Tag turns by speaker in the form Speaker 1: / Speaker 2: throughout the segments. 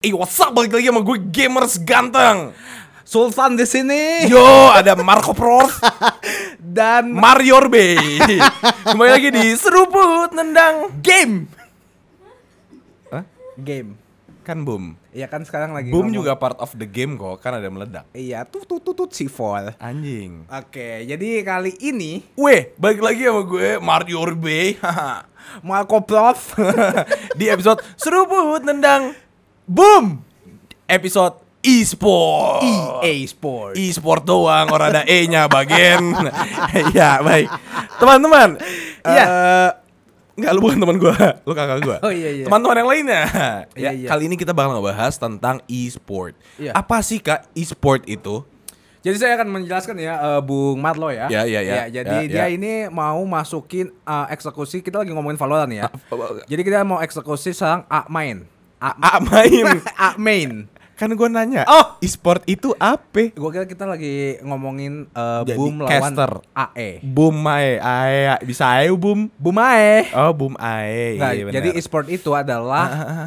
Speaker 1: What's up? Balik lagi sama gue Gamers Ganteng.
Speaker 2: Sultan di sini.
Speaker 1: Yo, ada Marco Prof
Speaker 2: Dan
Speaker 1: Mario Bay. Kembali lagi di Seruput Nendang
Speaker 2: game.
Speaker 1: Hah?
Speaker 2: Game.
Speaker 1: Kan boom.
Speaker 2: Iya kan sekarang lagi
Speaker 1: Boom
Speaker 2: ngomong.
Speaker 1: juga part of the game kok. Kan ada meledak.
Speaker 2: Iya, tut sifol.
Speaker 1: Anjing.
Speaker 2: Oke, jadi kali ini
Speaker 1: Weh, balik lagi sama gue Mario Bay.
Speaker 2: Marco Prof
Speaker 1: Di episode Seruput Nendang
Speaker 2: Boom
Speaker 1: episode e-sport.
Speaker 2: EA Sport.
Speaker 1: E-sport doang, orang ada E-nya bagian. Ya, baik. Teman-teman.
Speaker 2: Iya.
Speaker 1: Enggak, lu bukan teman gua, lu kakak gua.
Speaker 2: Oh, iya.
Speaker 1: Teman-teman yang lainnya. Ya,
Speaker 2: Iya.
Speaker 1: kali ini kita bakal ngebahas tentang e-sport.
Speaker 2: Iya.
Speaker 1: Apa sih Kak e-sport itu?
Speaker 2: Jadi saya akan menjelaskan ya, Bung Marlo ya.
Speaker 1: Ya.
Speaker 2: Jadi
Speaker 1: Ya.
Speaker 2: dia ini mau masukin eksekusi. Kita lagi ngomongin Valorant ya. Jadi kita mau eksekusi seorang main.
Speaker 1: Main.
Speaker 2: Main.
Speaker 1: Kan gua nanya,
Speaker 2: Oh.
Speaker 1: e-sport itu apa?
Speaker 2: Gua kira kita lagi ngomongin
Speaker 1: Jadi
Speaker 2: Boom lawan
Speaker 1: caster.
Speaker 2: AE.
Speaker 1: Boom ae, bisa ae boom.
Speaker 2: Boom AE.
Speaker 1: Oh, boom ae.
Speaker 2: Nggak,
Speaker 1: Iya, benar.
Speaker 2: jadi e-sport itu adalah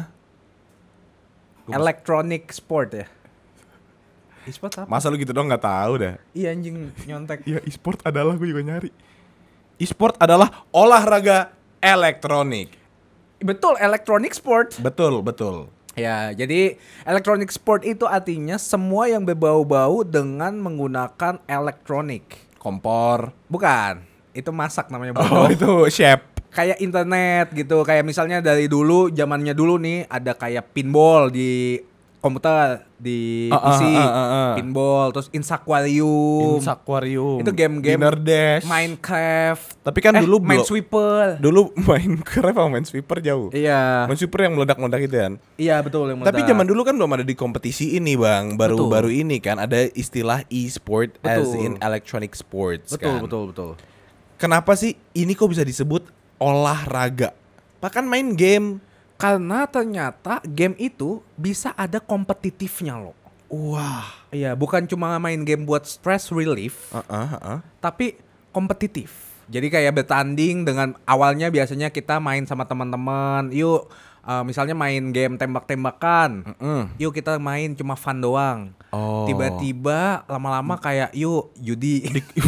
Speaker 2: electronic sport ya. E-sport apa?
Speaker 1: Masa lu gitu dong nggak tahu dah.
Speaker 2: Iya anjing nyontek.
Speaker 1: Ya e-sport adalah, gue juga nyari. E-sport adalah olahraga elektronik.
Speaker 2: Betul, electronic sport.
Speaker 1: Betul.
Speaker 2: Ya, jadi electronic sport itu artinya semua yang berbau-bau dengan menggunakan elektronik.
Speaker 1: Kompor.
Speaker 2: Bukan, itu masak namanya
Speaker 1: Oh,
Speaker 2: bodoh.
Speaker 1: itu chef.
Speaker 2: Kayak internet gitu, kayak misalnya dari dulu, zamannya dulu nih ada kayak pinball di komputer, di PC, pinball, terus Insaquarium,
Speaker 1: Aquarium.
Speaker 2: itu game-game
Speaker 1: Dinner Dash.
Speaker 2: Minecraft.
Speaker 1: Tapi kan dulu
Speaker 2: Minesweeper.
Speaker 1: Dulu Minecraft sama Minesweeper jauh.
Speaker 2: Iya.
Speaker 1: Minesweeper yang meledak-meledak itu kan.
Speaker 2: Iya betul yang
Speaker 1: Tapi
Speaker 2: meledak.
Speaker 1: zaman dulu kan belum ada di kompetisi ini, Bang. Baru-baru ini kan ada istilah e-sport as
Speaker 2: Betul.
Speaker 1: in electronic sports kan.
Speaker 2: Betul.
Speaker 1: Kenapa sih ini kok bisa disebut olahraga? Bahkan main game.
Speaker 2: Karena ternyata game itu bisa ada kompetitifnya loh.
Speaker 1: Wah.
Speaker 2: Iya, bukan cuma main game buat stress relief, tapi kompetitif. Jadi kayak bertanding dengan awalnya biasanya kita main sama teman-teman. Yuk, misalnya main game tembak-tembakan. Yuk kita main cuma fun doang.
Speaker 1: Oh.
Speaker 2: Tiba-tiba lama-lama kayak yuk judi.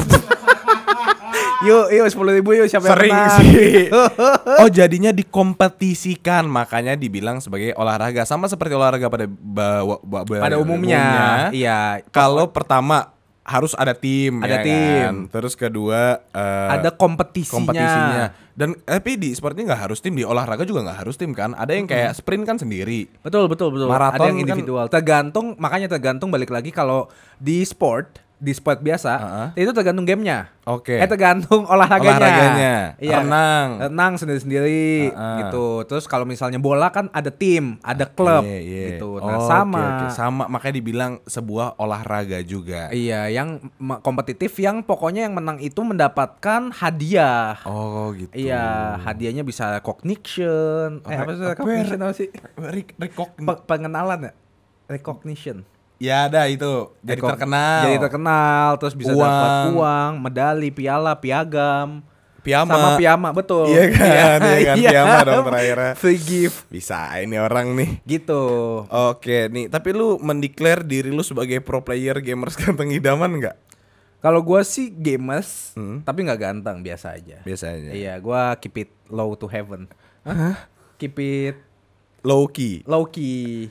Speaker 2: Yuk 10.000 yuk siapa yang
Speaker 1: Sering
Speaker 2: menang.
Speaker 1: sih. Oh, jadinya dikompetisikan, makanya dibilang sebagai olahraga. Sama seperti olahraga pada
Speaker 2: Pada umumnya. Iya.
Speaker 1: Kalau pertama harus ada tim,
Speaker 2: Ada
Speaker 1: ya
Speaker 2: tim.
Speaker 1: kan? Terus kedua
Speaker 2: Ada kompetisinya.
Speaker 1: Dan tapi di sepertinya nggak harus tim, di olahraga juga nggak harus tim kan? Ada yang kayak sprint kan sendiri.
Speaker 2: Betul.
Speaker 1: Maraton
Speaker 2: Ada yang
Speaker 1: kan-
Speaker 2: individual. Makanya tergantung balik lagi kalau di sport biasa, itu tergantung gamenya.
Speaker 1: Oke.
Speaker 2: Tergantung olahraganya. Iya.
Speaker 1: Renang
Speaker 2: sendiri-sendiri gitu. Terus kalau misalnya bola kan ada tim, ada klub
Speaker 1: Iya.
Speaker 2: gitu.
Speaker 1: Oh,
Speaker 2: Nah,
Speaker 1: oke. Sama, makanya dibilang sebuah olahraga juga.
Speaker 2: Iya, yang kompetitif yang pokoknya yang menang itu mendapatkan hadiah.
Speaker 1: Oh, gitu.
Speaker 2: Iya, hadiahnya bisa recognition. Apa sih recognition apa sih? Pengenalan ya? Recognition.
Speaker 1: Ya ada itu. Jadi
Speaker 2: terkenal, terus bisa dapat uang, medali, piala, piagam, sama piyama, betul.
Speaker 1: Iya kan, piyama dong terakhirnya.
Speaker 2: Free gift.
Speaker 1: Bisa ini orang nih.
Speaker 2: Gitu.
Speaker 1: Oke nih, tapi lu mendeklar diri lu sebagai pro player gamers ganteng idaman nggak?
Speaker 2: Kalau gue sih gamers, tapi nggak ganteng, biasa aja.
Speaker 1: Biasa aja.
Speaker 2: Iya, gue keep it low to heaven. Keep it
Speaker 1: Low key.
Speaker 2: low key.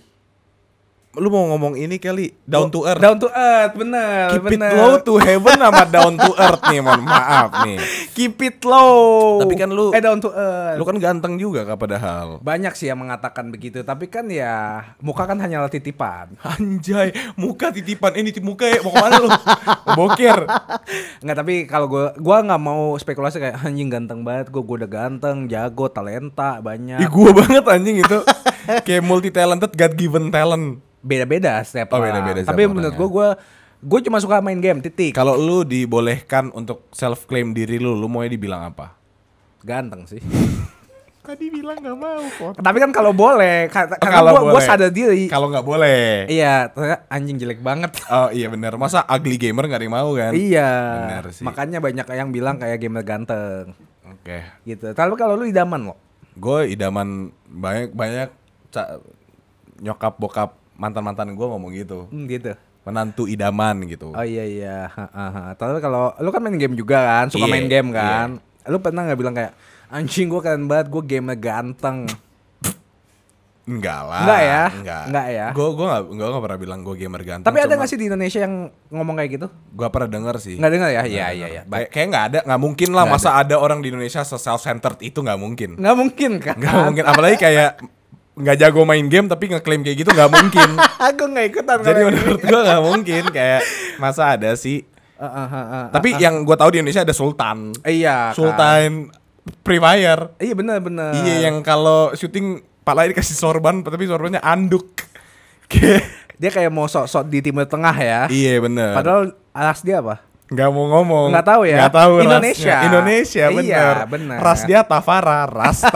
Speaker 1: Lu mau ngomong ini kali, down to earth.
Speaker 2: Down to earth, bener.
Speaker 1: Keep it low to heaven sama down to earth nih, mohon maaf nih.
Speaker 2: Keep it low.
Speaker 1: Tapi kan lu
Speaker 2: down to earth.
Speaker 1: Lu kan ganteng juga Kak padahal.
Speaker 2: Banyak sih yang mengatakan begitu, tapi kan ya muka kan hanyalah titipan.
Speaker 1: Anjay, muka titipan ini muka ya, mau kemana lu? Mau bokir.
Speaker 2: Enggak, tapi kalau gua nggak mau spekulasi kayak anjing ganteng banget, gua udah ganteng, jago, talenta banyak.
Speaker 1: Ih, gua banget anjing itu. Kayak multi talented, God given talent.
Speaker 2: Beda-beda setiap orang.
Speaker 1: Beda-beda setiap
Speaker 2: Tapi
Speaker 1: orang,
Speaker 2: menurut
Speaker 1: ya.
Speaker 2: gua cuma suka main game, titik.
Speaker 1: Kalau lu dibolehkan untuk self claim diri lu maunya dibilang apa?
Speaker 2: Ganteng sih.
Speaker 1: Tadi bilang nggak mau kok.
Speaker 2: Tapi kan kalau boleh, karena
Speaker 1: Kalau
Speaker 2: gua
Speaker 1: boleh.
Speaker 2: sadar diri.
Speaker 1: Kalau nggak boleh.
Speaker 2: Iya, ternyata anjing jelek banget.
Speaker 1: Oh iya benar. Masa ugly gamer nggak ada yang mau kan?
Speaker 2: Iya.
Speaker 1: Benar sih.
Speaker 2: Makanya banyak yang bilang kayak gamer ganteng.
Speaker 1: Oke.
Speaker 2: Gitu. Tapi kalau lu idaman lo.
Speaker 1: Gue idaman banyak nyokap bokap mantan-mantan gue ngomong gitu.
Speaker 2: Gitu.
Speaker 1: Menantu idaman gitu.
Speaker 2: Oh iya. Tapi kalau lu kan main game juga kan, suka main game kan. Lu pernah nggak bilang kayak anjing gue keren banget, gue gamer ganteng?
Speaker 1: Enggak lah.
Speaker 2: Enggak ya.
Speaker 1: Gue nggak pernah bilang gue gamer ganteng.
Speaker 2: Tapi ada nggak sih di Indonesia yang ngomong kayak gitu?
Speaker 1: Gue pernah denger sih.
Speaker 2: Nggak dengar ya? Iya.
Speaker 1: Kayak nggak ada, nggak mungkin lah. Masa ada orang di Indonesia self-centered itu nggak mungkin.
Speaker 2: Nggak mungkin kan?
Speaker 1: Nggak mungkin. Apalagi kayak nggak jago main game tapi ngeklaim kayak gitu nggak mungkin.
Speaker 2: Aku nggak ikutan.
Speaker 1: Jadi menurut gue nggak mungkin. Kayak masa ada sih. Tapi yang gue tahu di Indonesia ada Sultan.
Speaker 2: Iya.
Speaker 1: Sultan Free Fire.
Speaker 2: Iya benar.
Speaker 1: Iya, yang kalau syuting palanya dikasih sorban tapi sorbannya anduk.
Speaker 2: Dia kayak mau sok-sok di Timur Tengah ya.
Speaker 1: Iya benar.
Speaker 2: Padahal ras dia apa?
Speaker 1: Nggak mau ngomong.
Speaker 2: Nggak tahu ya.
Speaker 1: Nggak tahu
Speaker 2: Indonesia.
Speaker 1: Indonesia bener.
Speaker 2: Iya bener.
Speaker 1: Ras dia Tafara.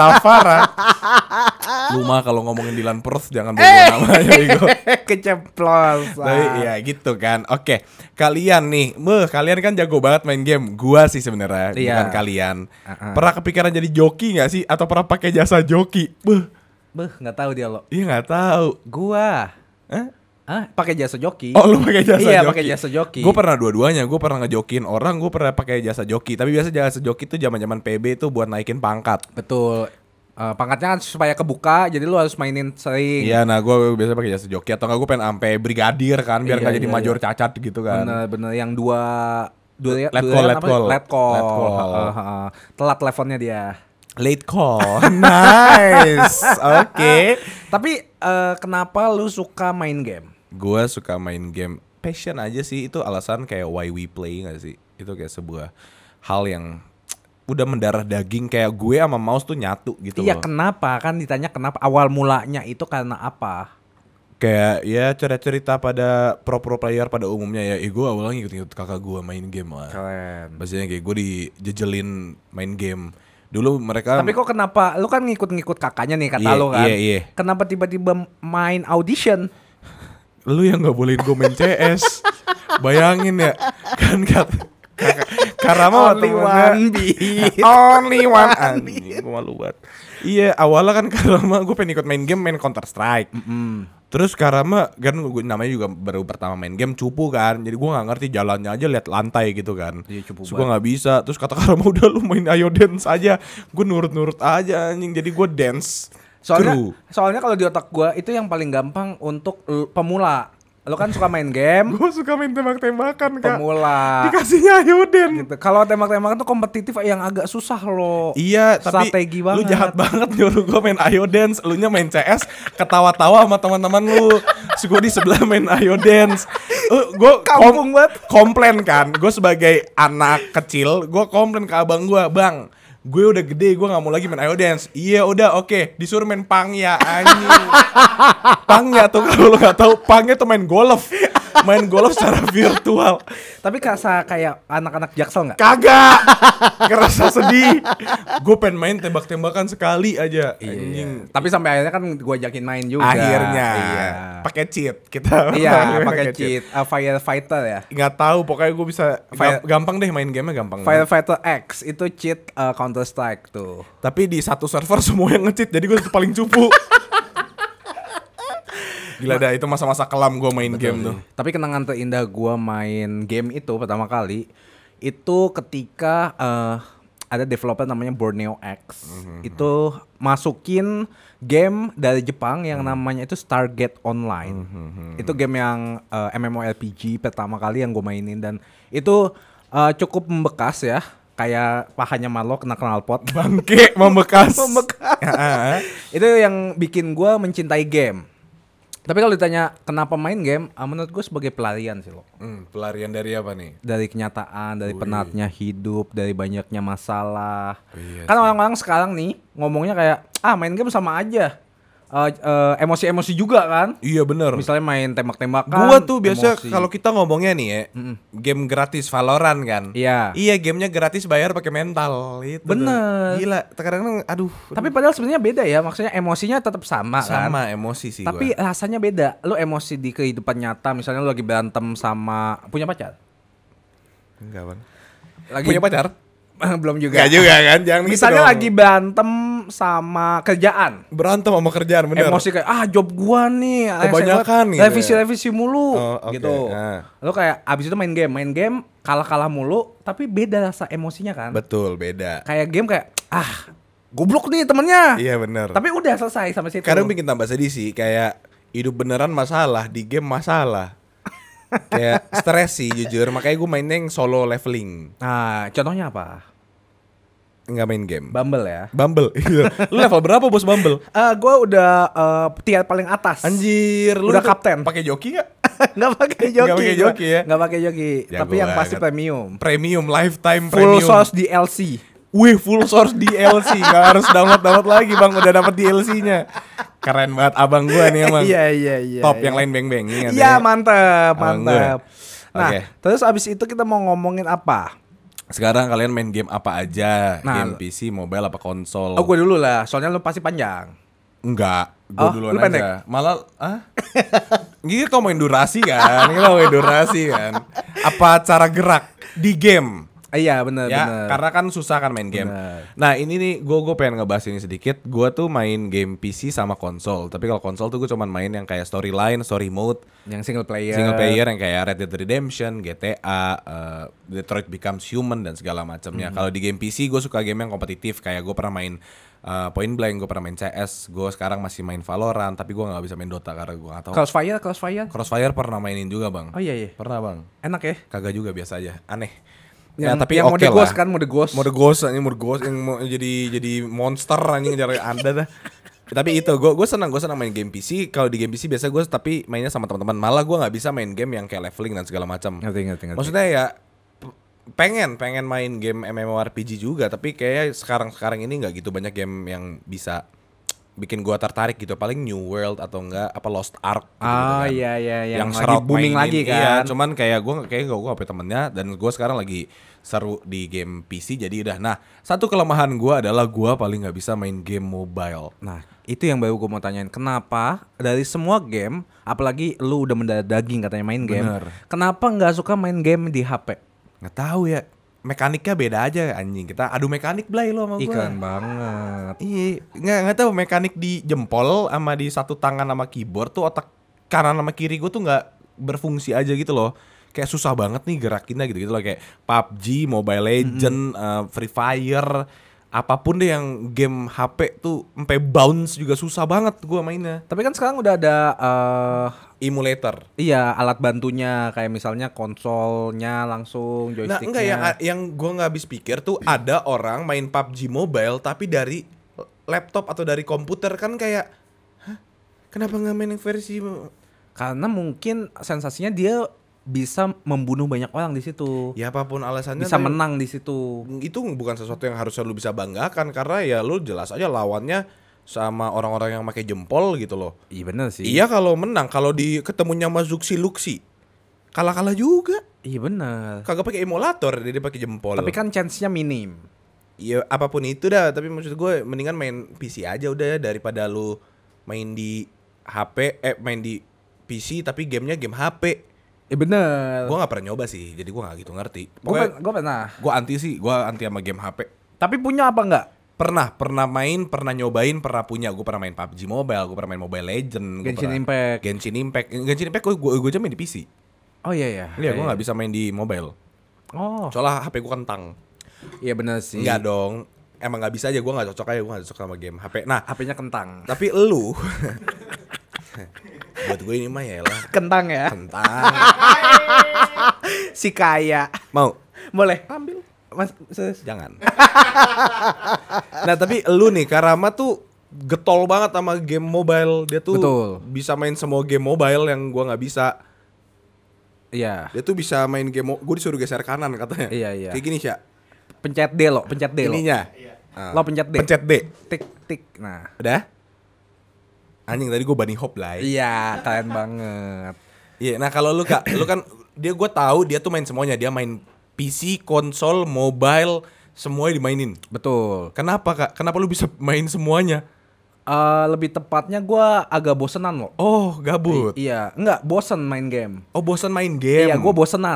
Speaker 1: Lu mah kalau ngomongin Dylan Perth jangan bawa namanya Igo.
Speaker 2: Keceplos.
Speaker 1: Tapi ya gitu kan. Oke, kalian nih, kalian kan jago banget main game. Gua sih sebenarnya, bukan kalian. Pernah kepikiran jadi joki nggak sih? Atau pernah pakai jasa joki?
Speaker 2: Nggak tahu dia lo.
Speaker 1: Iya nggak tahu.
Speaker 2: Gua. Pakai jasa joki.
Speaker 1: Oh, lu pakai jasa joki?
Speaker 2: Iya, pakai jasa joki.
Speaker 1: Gue pernah dua-duanya. Gue pernah ngejokin orang, gue pernah pakai jasa joki. Tapi biasa jasa joki itu zaman-zaman PB itu buat naikin pangkat.
Speaker 2: Betul. Pangkatnya kan supaya kebuka, jadi lu harus mainin sering.
Speaker 1: Iya, nah gue biasa pakai jasa joki atau enggak gue pengen sampai brigadir kan biar nggak jadi major cacat gitu kan.
Speaker 2: Bener yang dua
Speaker 1: let call.
Speaker 2: Telat teleponnya dia.
Speaker 1: Late call. Nice. Oke.
Speaker 2: Tapi kenapa lu suka main game?
Speaker 1: Gue suka main game. Passion aja sih, itu alasan kayak why we play gak sih? Itu kayak sebuah hal yang udah mendarah daging, kayak gue sama mouse tuh nyatu gitu.
Speaker 2: Iya,
Speaker 1: loh.
Speaker 2: kenapa? Kan ditanya kenapa, awal mulanya itu karena apa?
Speaker 1: Kayak ya cerita pada pro player pada umumnya ya. Gue awalnya ngikut kakak gue main game lah.
Speaker 2: Keren.
Speaker 1: Maksudnya kayak gue dijejelin main game. Dulu mereka.
Speaker 2: Tapi kok kenapa? Lu kan ngikut-ngikut kakaknya nih kata lu kan.
Speaker 1: Iya.
Speaker 2: Kenapa tiba-tiba main audition?
Speaker 1: Lu yang nggak bolehin gue main CS. Bayangin ya. Kan Karama
Speaker 2: only one beat.
Speaker 1: Only one. Anjing, gue malu banget. Iya, awalnya kan Karama gue pengen ikut main game, main Counter Strike. Terus Karama kan gue namanya juga baru pertama main game, cupu kan. Jadi gue nggak ngerti jalannya aja, lihat lantai gitu kan.
Speaker 2: Iya, cupu.
Speaker 1: Terus gue nggak bisa. Terus kata Karama udah lu main ayo dance aja. Gue nurut aja anjing. Jadi gue dance.
Speaker 2: Soalnya kalau di otak gue itu yang paling gampang untuk pemula. Lo kan suka main game.
Speaker 1: Gue suka main tembak-tembakan Kak.
Speaker 2: Pemula.
Speaker 1: Dikasihnya ayoden.
Speaker 2: Gitu. Kalau tembak-tembakan tuh kompetitif yang agak susah loh.
Speaker 1: Iya, tapi
Speaker 2: strategi banget.
Speaker 1: Lu jahat banget nyuruh gue main ayo dance. Lu nya main CS, ketawa-tawa sama teman-teman lu. Terus gue di sebelah main ayo dance. Gue
Speaker 2: kampung banget.
Speaker 1: Komplain kan. Gue sebagai anak kecil, gue komplain ke abang gue, "Bang, gue udah gede, gue gak mau lagi main ayo dance." "Iya udah oke." Disuruh main pangya anjing. Pangya tuh kalau lo gak tahu, pangya tuh main golf. Main golf secara virtual.
Speaker 2: Tapi kerasa kayak anak-anak Jaksel gak?
Speaker 1: Kagak. Kerasa sedih. Gue pengen main tembak-tembakan sekali aja. Anjing.
Speaker 2: Tapi sampai akhirnya kan gue ajakin main juga.
Speaker 1: Akhirnya.
Speaker 2: Iya.
Speaker 1: Pakai cheat kita.
Speaker 2: Iya, pakai cheat. Firefighter ya.
Speaker 1: Nggak tahu, pokoknya gue bisa gampang deh main gamenya, gampang.
Speaker 2: Firefighter X itu cheat Counter Strike tuh.
Speaker 1: Tapi di satu server semua yang nge-cheat, jadi gue paling cupu. Gila dah, itu masa-masa kelam gue main game tuh.
Speaker 2: Tapi kenangan terindah gue main game itu pertama kali itu ketika ada developer namanya Borneo X. Itu masukin game dari Jepang yang namanya itu Stargate Online. Itu game yang MMORPG pertama kali yang gue mainin, dan itu cukup membekas ya. Kayak pahanya Marlo kena knalpot.
Speaker 1: Bangke, membekas.
Speaker 2: Itu yang bikin gue mencintai game. Tapi kalau ditanya kenapa main game, menurut gue sebagai pelarian sih lo.
Speaker 1: Pelarian dari apa nih?
Speaker 2: Dari kenyataan, dari penatnya hidup, dari banyaknya masalah.
Speaker 1: Iya
Speaker 2: kan orang-orang sekarang nih ngomongnya kayak main game sama aja. Emosi-emosi juga kan.
Speaker 1: Iya bener.
Speaker 2: Misalnya main tembak-tembakan.
Speaker 1: Gua tuh biasa kalau kita ngomongnya nih ya, game gratis Valorant kan.
Speaker 2: Iya.
Speaker 1: Iya, gamenya gratis bayar pakai mental. Itu
Speaker 2: bener.
Speaker 1: Gila, kadang-kadang aduh.
Speaker 2: Tapi padahal sebenarnya beda ya. Maksudnya emosinya tetap sama kan.
Speaker 1: Sama emosi sih.
Speaker 2: Tapi rasanya beda. Lu emosi di kehidupan nyata, misalnya lu lagi berantem sama punya pacar.
Speaker 1: Enggak, Bang.
Speaker 2: Lagi
Speaker 1: Punya pacar?
Speaker 2: Belum juga.
Speaker 1: Gak juga kan? Jangan gitu
Speaker 2: Misalnya
Speaker 1: dong.
Speaker 2: lagi berantem sama kerjaan.
Speaker 1: Berantem sama kerjaan bener.
Speaker 2: Emosi kayak job gua nih
Speaker 1: Kebanyakan gitu ya.
Speaker 2: revisi mulu
Speaker 1: Oke.
Speaker 2: gitu.
Speaker 1: Nah.
Speaker 2: Lalu kayak abis itu main game kalah mulu tapi beda rasa emosinya kan.
Speaker 1: Betul, beda.
Speaker 2: Kayak game kayak goblok nih temennya.
Speaker 1: Iya bener.
Speaker 2: Tapi udah selesai sampai situ.
Speaker 1: Kadang bikin tambah sedih sih, kayak hidup beneran masalah, di game masalah. Kayak stres sih jujur, makanya gue mainnya yang solo leveling.
Speaker 2: Nah, contohnya apa?
Speaker 1: Nggak main game.
Speaker 2: Bumble ya.
Speaker 1: Bumble. Iya. Lu level berapa bos Bumble?
Speaker 2: Gue udah tier paling atas.
Speaker 1: Anjir, lu
Speaker 2: Udah
Speaker 1: tuh
Speaker 2: kapten.
Speaker 1: Pakai joki nggak?
Speaker 2: Nggak pakai joki.
Speaker 1: Nggak pakai joki ya?
Speaker 2: Nggak pakai joki.
Speaker 1: Jago
Speaker 2: Tapi yang pasti
Speaker 1: banget.
Speaker 2: premium.
Speaker 1: Premium, lifetime
Speaker 2: Full
Speaker 1: premium.
Speaker 2: source DLC.
Speaker 1: Wih, full source DLC. Nggak harus download lagi bang, udah dapet DLC-nya. Keren banget abang gua nih emang.
Speaker 2: Iya.
Speaker 1: Top yang lain beng-beng. Ingat
Speaker 2: Iya
Speaker 1: ya?
Speaker 2: mantep.
Speaker 1: Abang
Speaker 2: Nah,
Speaker 1: Oke.
Speaker 2: terus abis itu kita mau ngomongin apa?
Speaker 1: Sekarang kalian main game apa aja?
Speaker 2: Nah,
Speaker 1: Game PC, mobile, apa konsol?
Speaker 2: Gue dulu lah, soalnya lu pasti panjang.
Speaker 1: Enggak, gue duluan
Speaker 2: lu pendek?
Speaker 1: aja. Malah, Gini kau main durasi kan? Kita main durasi kan? Apa cara gerak di game?
Speaker 2: Iya bener.
Speaker 1: Ya, karena kan susah kan main game.
Speaker 2: Bener.
Speaker 1: Nah ini nih, gue pengen ngebahas ini sedikit. Gue tuh main game PC sama konsol. Tapi kalau konsol tuh gue cuman main yang kayak storyline, story mode,
Speaker 2: Yang single player.
Speaker 1: yang kayak Red Dead Redemption, GTA, Detroit Becomes Human dan segala macamnya. Kalau di game PC gue suka game yang kompetitif. Kayak gue pernah main Point Blank, gue pernah main CS. Gue sekarang masih main Valorant, tapi gue nggak bisa main Dota karena gue nggak tahu.
Speaker 2: Crossfire.
Speaker 1: Crossfire pernah mainin juga bang.
Speaker 2: Oh iya.
Speaker 1: Pernah bang.
Speaker 2: Enak ya.
Speaker 1: Kagak juga, biasa aja. Aneh.
Speaker 2: Yang
Speaker 1: oke
Speaker 2: mode ghost
Speaker 1: lah.
Speaker 2: kan, mode ghost.
Speaker 1: Mode ghost yang mau jadi monster anjing ngejar Anda dah. Tapi itu gue senang main game PC. Kalau di game PC biasa gue tapi mainnya sama teman-teman. Malah gue nggak bisa main game yang kayak leveling dan segala macam.
Speaker 2: Ngerti.
Speaker 1: Maksudnya ya pengen main game MMORPG juga, tapi kayak sekarang ini nggak gitu banyak game yang bisa bikin gua tertarik gitu. Paling New World atau enggak apa Lost Ark gitu, kan.
Speaker 2: Iya.
Speaker 1: Yang
Speaker 2: lagi
Speaker 1: Shroud
Speaker 2: booming
Speaker 1: mainin.
Speaker 2: lagi kan.
Speaker 1: Iya, cuman kayak gua HP temennya dan gua sekarang lagi seru di game PC jadi udah. Nah, satu kelemahan gua adalah gua paling nggak bisa main game mobile.
Speaker 2: Nah, itu yang baru gue mau tanyain. Kenapa dari semua game, apalagi lu udah mendarah daging katanya main game,
Speaker 1: Bener.
Speaker 2: kenapa nggak suka main game di HP?
Speaker 1: Nggak tahu ya. Mekaniknya beda aja anjing. Kita adu mekanik Blay lo sama gua.
Speaker 2: Ikan banget.
Speaker 1: Iya, nggak tahu mekanik di jempol sama di satu tangan sama keyboard tuh otak kanan sama kiri gue tuh nggak berfungsi aja gitu loh. Kayak susah banget nih gerakinnya gitu loh, kayak PUBG, Mobile Legend, Free Fire, apapun deh yang game HP tuh sampai bounce juga susah banget gue mainnya.
Speaker 2: Tapi kan sekarang udah ada
Speaker 1: Emulator.
Speaker 2: iya alat bantunya kayak misalnya konsolnya langsung
Speaker 1: Nah,
Speaker 2: joysticknya.
Speaker 1: enggak yang gue nggak habis pikir tuh ada orang main PUBG Mobile tapi dari laptop atau dari komputer kan kayak, hah? Kenapa nggak main yang versi
Speaker 2: Karena mungkin sensasinya dia bisa membunuh banyak orang di situ.
Speaker 1: ya apapun alasannya
Speaker 2: Bisa
Speaker 1: tapi
Speaker 2: menang di situ.
Speaker 1: itu bukan sesuatu yang harusnya lu bisa banggakan karena ya lu jelas aja lawannya sama orang-orang yang pakai jempol gitu loh.
Speaker 2: Iya bener sih.
Speaker 1: Iya kalau menang, kalau di ketemunya sama Zuxi Luxi kalah juga.
Speaker 2: Iya bener.
Speaker 1: Kagak pakai emulator, dia pakai jempol.
Speaker 2: Tapi kan chance-nya minim.
Speaker 1: ya apapun itu dah, tapi maksud gue mendingan main PC aja udah daripada lu main di HP main di PC tapi gamenya game HP.
Speaker 2: Iya bener.
Speaker 1: Gue nggak pernah nyoba sih, jadi gue nggak gitu ngerti.
Speaker 2: Gue
Speaker 1: Pokoknya
Speaker 2: pernah.
Speaker 1: gue anti sama game HP.
Speaker 2: Tapi punya apa enggak?
Speaker 1: Pernah main, pernah nyobain, pernah punya. Gue pernah main PUBG Mobile, gue pernah main Mobile Legend,
Speaker 2: Genshin Impact.
Speaker 1: Genshin Impact gue aja main di PC.
Speaker 2: Oh iya.
Speaker 1: Iya, gue nggak bisa main di mobile.
Speaker 2: Oh.
Speaker 1: Soalnya HP gue kentang.
Speaker 2: Iya bener sih.
Speaker 1: Enggak dong, emang nggak bisa aja. Gue nggak cocok aja, gue nggak cocok sama game HP. Nah,
Speaker 2: HP-nya kentang.
Speaker 1: tapi elu, buat gue ini mah ya lah
Speaker 2: Kentang ya.
Speaker 1: kentang.
Speaker 2: Si kaya.
Speaker 1: Mau?
Speaker 2: Boleh. Ambil. Mas,
Speaker 1: Jangan. Nah tapi elu nih, Karama tuh getol banget sama game mobile. Dia tuh
Speaker 2: Betul.
Speaker 1: bisa main semua game mobile yang gua nggak bisa.
Speaker 2: Iya.
Speaker 1: Dia tuh bisa main game, gue disuruh geser kanan katanya.
Speaker 2: Iya.
Speaker 1: Kayak gini Sya.
Speaker 2: Pencet D lo.
Speaker 1: Ininya. Ah.
Speaker 2: Lo pencet D.
Speaker 1: Pencet D.
Speaker 2: Tik. Nah.
Speaker 1: Udah? Anjing tadi gue bunny hop lah.
Speaker 2: Iya, keren banget.
Speaker 1: Iya, nah kalau lu Kak, lu kan gue tahu dia tuh main semuanya. Dia main PC, konsol, mobile, semuanya dimainin.
Speaker 2: Betul.
Speaker 1: Kenapa Kak? Kenapa lu bisa main semuanya?
Speaker 2: Lebih tepatnya gue agak bosenan loh.
Speaker 1: Oh, gabut.
Speaker 2: Iya, enggak bosen main game.
Speaker 1: Oh, bosan main game.
Speaker 2: Iya, gue bosenan.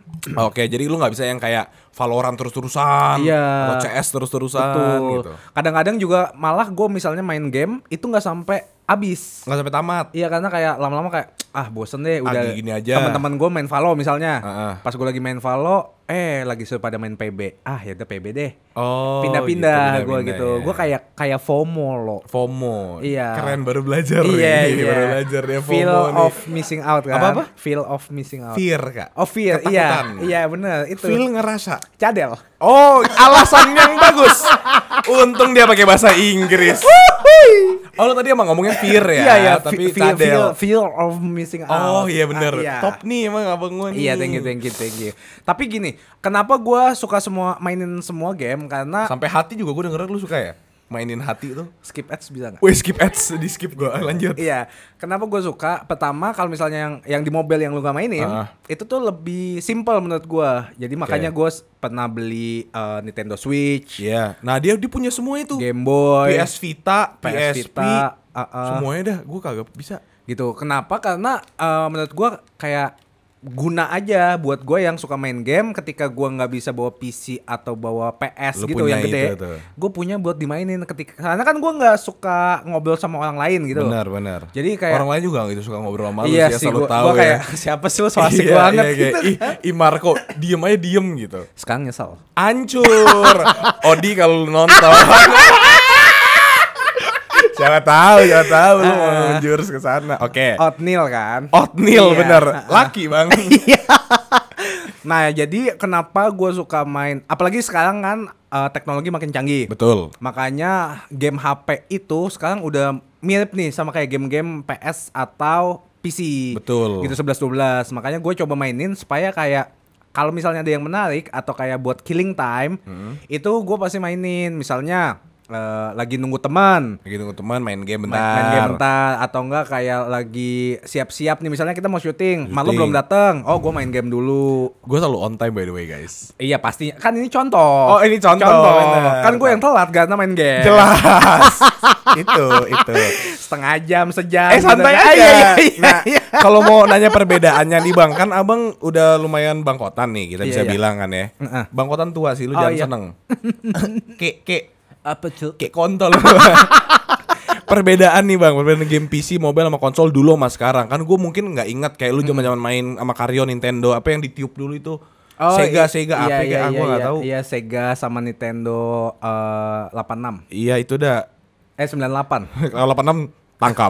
Speaker 1: Oke, jadi lu nggak bisa yang kayak Valorant terus-terusan,
Speaker 2: Iya.
Speaker 1: atau CS terus-terusan
Speaker 2: Betul.
Speaker 1: gitu.
Speaker 2: Kadang-kadang juga malah gue misalnya main game itu nggak sampai habis.
Speaker 1: Nggak sampai tamat.
Speaker 2: Iya, karena kayak lama-lama kayak bosen deh udah
Speaker 1: Gini aja.
Speaker 2: teman-teman gue main Valo misalnya.
Speaker 1: Heeh.
Speaker 2: Pas gue lagi main Valo, lagi sudah pada main PB. Ya udah PB deh.
Speaker 1: Oh,
Speaker 2: Pindah-pindah
Speaker 1: gitu,
Speaker 2: gue
Speaker 1: pindah-pindah
Speaker 2: gitu.
Speaker 1: ya.
Speaker 2: Gue kayak FOMO loh.
Speaker 1: FOMO.
Speaker 2: Iya.
Speaker 1: Keren, baru belajar.
Speaker 2: Iya,
Speaker 1: nih.
Speaker 2: iya.
Speaker 1: Baru belajar dia FOMO
Speaker 2: Feel
Speaker 1: nih.
Speaker 2: of missing out kan.
Speaker 1: Apa-apa?
Speaker 2: Feel of missing out.
Speaker 1: Fear, Kak.
Speaker 2: Oh, fear.
Speaker 1: Ketakutan.
Speaker 2: Iya bener itu.
Speaker 1: Feel ngerasa.
Speaker 2: Cadel.
Speaker 1: Oh, alasan yang bagus. Untung dia pakai bahasa Inggris. Oh, lu tadi emang ngomongnya fear ya,
Speaker 2: Iya,
Speaker 1: tapi
Speaker 2: feel
Speaker 1: cadel.
Speaker 2: of missing out.
Speaker 1: Oh iya bener.
Speaker 2: Iya.
Speaker 1: Top nih emang abang gue nih.
Speaker 2: Iya, thank you. Tapi gini, kenapa gua suka mainin semua game? Karena
Speaker 1: Sampai hati juga gue denger lu suka ya? Mainin hati tuh.
Speaker 2: skip ads bisa nggak?
Speaker 1: Wih, skip ads, di skip gue. Lanjut.
Speaker 2: Iya, kenapa gue suka? Pertama, kalau misalnya yang di mobile yang lu gak mainin, itu tuh lebih simple menurut gue. Jadi makanya gue pernah beli Nintendo Switch,
Speaker 1: Iya. Nah, dia punya semua itu.
Speaker 2: Game Boy,
Speaker 1: PS Vita,
Speaker 2: PS
Speaker 1: PSP,
Speaker 2: Vita,
Speaker 1: semuanya dah. Gue kagak bisa.
Speaker 2: gitu. Kenapa? Karena menurut gue kayak guna aja buat gue yang suka main game. Ketika gue nggak bisa bawa PC atau bawa PS
Speaker 1: Lu
Speaker 2: gitu
Speaker 1: punya
Speaker 2: yang gede,
Speaker 1: itu tuh.
Speaker 2: gue punya buat dimainin karena kan gue nggak suka ngobrol sama orang lain gitu.
Speaker 1: Benar.
Speaker 2: Jadi kayak
Speaker 1: orang lain juga gitu suka ngobrol sama lu
Speaker 2: iya
Speaker 1: sih,
Speaker 2: sih,
Speaker 1: asal lu
Speaker 2: gue
Speaker 1: tahu ya.
Speaker 2: kayak siapa sih lu so asik
Speaker 1: Iya,
Speaker 2: banget
Speaker 1: iya,
Speaker 2: gitu.
Speaker 1: kayak, Marco diem aja diem gitu.
Speaker 2: Sekarang nyesel.
Speaker 1: Hancur. Odi kalau lu nonton. Siapa tahu lu mau menjurus ke sana. Oke.
Speaker 2: Oatmeal kan?
Speaker 1: Oatmeal
Speaker 2: Iya.
Speaker 1: bener. Laki, Bang.
Speaker 2: Nah, jadi kenapa gue suka main? Apalagi sekarang kan teknologi makin canggih.
Speaker 1: Betul.
Speaker 2: Makanya game HP itu sekarang udah mirip nih sama kayak game-game PS atau PC.
Speaker 1: Betul.
Speaker 2: Gitu 11-12. Makanya gue coba mainin supaya kayak kalau misalnya ada yang menarik atau kayak buat killing time, itu gue pasti mainin. Misalnya lagi nunggu teman.
Speaker 1: Lagi tunggu teman main game bentar.
Speaker 2: Main game bentar atau enggak kayak lagi siap-siap nih, misalnya kita mau syuting, malu
Speaker 1: Syuting.
Speaker 2: belum datang. Oh, gue main game dulu.
Speaker 1: Gue selalu on time by the way, guys.
Speaker 2: Iya pasti. Kan ini contoh.
Speaker 1: Oh, ini contoh, bener.
Speaker 2: Kan gue yang telat karena main game.
Speaker 1: Jelas. itu.
Speaker 2: Setengah jam, sejam.
Speaker 1: Santai
Speaker 2: gitu.
Speaker 1: aja.
Speaker 2: Iya.
Speaker 1: Nah, kalau mau nanya perbedaannya nih, Bang, kan Abang udah lumayan bangkotan nih, kita bisa
Speaker 2: Iya.
Speaker 1: bilang kan ya. Bangkotan tua sih, lu
Speaker 2: Oh,
Speaker 1: jangan
Speaker 2: iya.
Speaker 1: seneng. Kek
Speaker 2: Apa tuh?
Speaker 1: kayak kontol. Perbedaan nih Bang, perbedaan game PC, mobile sama konsol dulu sama sekarang. Kan gue mungkin nggak ingat kayak lu zaman-zaman main sama Mario, Nintendo, apa yang ditiup dulu itu. Sega apa kayak gue nggak tahu.
Speaker 2: Iya, Sega sama Nintendo 86.
Speaker 1: Iya itu dah.
Speaker 2: 98.
Speaker 1: Kalau 86 tangkap.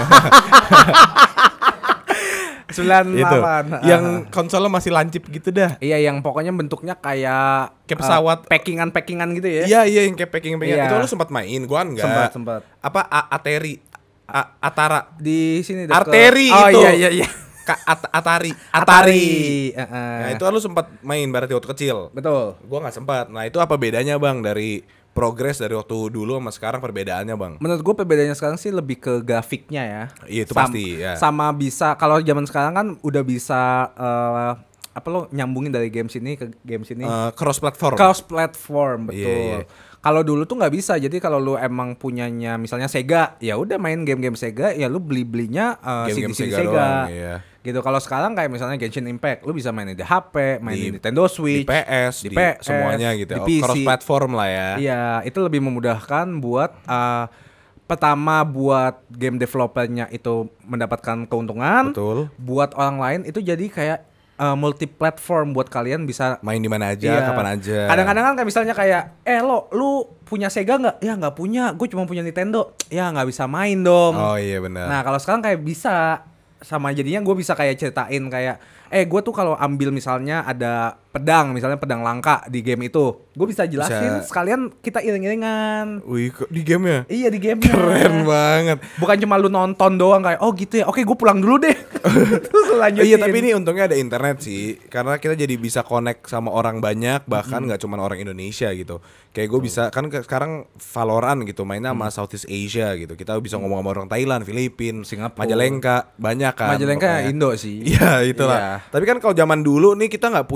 Speaker 2: 98.
Speaker 1: Itu. Yang konsolnya masih lancip gitu dah.
Speaker 2: Iya, yang pokoknya bentuknya kayak
Speaker 1: Kayak pesawat.
Speaker 2: packingan gitu ya.
Speaker 1: Iya yang kayak packing.
Speaker 2: Iya.
Speaker 1: Itu lu sempat main, gua enggak.
Speaker 2: Sempat.
Speaker 1: Apa Atari? Atara.
Speaker 2: Di sini deket.
Speaker 1: Arteri
Speaker 2: Oh,
Speaker 1: itu.
Speaker 2: iya.
Speaker 1: Atari.
Speaker 2: Heeh.
Speaker 1: Nah itu lu sempat main berarti waktu kecil.
Speaker 2: Betul.
Speaker 1: Gua nggak sempat. Nah itu apa bedanya Bang dari progres dari waktu dulu sama sekarang, perbedaannya Bang?
Speaker 2: Menurut gue perbedaannya sekarang sih lebih ke grafiknya ya.
Speaker 1: Iya, itu pasti, ya.
Speaker 2: Sama bisa kalau zaman sekarang kan udah bisa apa lo nyambungin dari game sini ke game sini.
Speaker 1: Cross platform.
Speaker 2: Cross platform, betul.
Speaker 1: Iya.
Speaker 2: Kalau dulu tuh nggak bisa. Jadi kalau lu emang punyanya misalnya Sega, ya udah main game-game Sega, ya lu beli-belinya
Speaker 1: Game-game
Speaker 2: CD
Speaker 1: Sega doang, iya.
Speaker 2: Gitu. Kalau sekarang kayak misalnya Genshin Impact, lu bisa main di HP, main di Nintendo Switch,
Speaker 1: di PS, di semuanya gitu.
Speaker 2: di PC.
Speaker 1: Cross platform lah ya.
Speaker 2: Iya, itu lebih memudahkan buat pertama buat game developernya itu mendapatkan keuntungan.
Speaker 1: Betul.
Speaker 2: Buat orang lain itu jadi kayak multi platform buat kalian bisa
Speaker 1: Main di mana aja,
Speaker 2: iya.
Speaker 1: kapan aja.
Speaker 2: Kadang-kadang kan kayak misalnya kayak lu punya Sega nggak? Ya nggak punya, gue cuma punya Nintendo. Ya nggak bisa main dong.
Speaker 1: Oh iya benar.
Speaker 2: Nah kalau sekarang kayak bisa, sama jadinya gue bisa kayak ceritain kayak gue tuh kalau ambil misalnya ada misalnya pedang langka di game itu, gue bisa jelasin sekalian kita iring-iringan.
Speaker 1: Wih, di game ya?
Speaker 2: Iya di game.
Speaker 1: Keren banget.
Speaker 2: Bukan cuma lu nonton doang kayak oh gitu ya. Oke, gue pulang dulu deh. Terus lanjutin.
Speaker 1: Iya, tapi ini untungnya ada internet sih, karena kita jadi bisa connect sama orang banyak, bahkan nggak cuma orang Indonesia gitu. Kayak gue bisa kan sekarang Valorant gitu, mainnya sama Southeast Asia gitu. Kita bisa ngomong sama orang Thailand, Filipina,
Speaker 2: Singapura,
Speaker 1: Majalengka, banyak kan.
Speaker 2: Majalengka
Speaker 1: pokoknya.
Speaker 2: Indo sih.
Speaker 1: Iya, itulah.
Speaker 2: Iya.
Speaker 1: Tapi kan kalau zaman dulu nih kita nggak punya internet,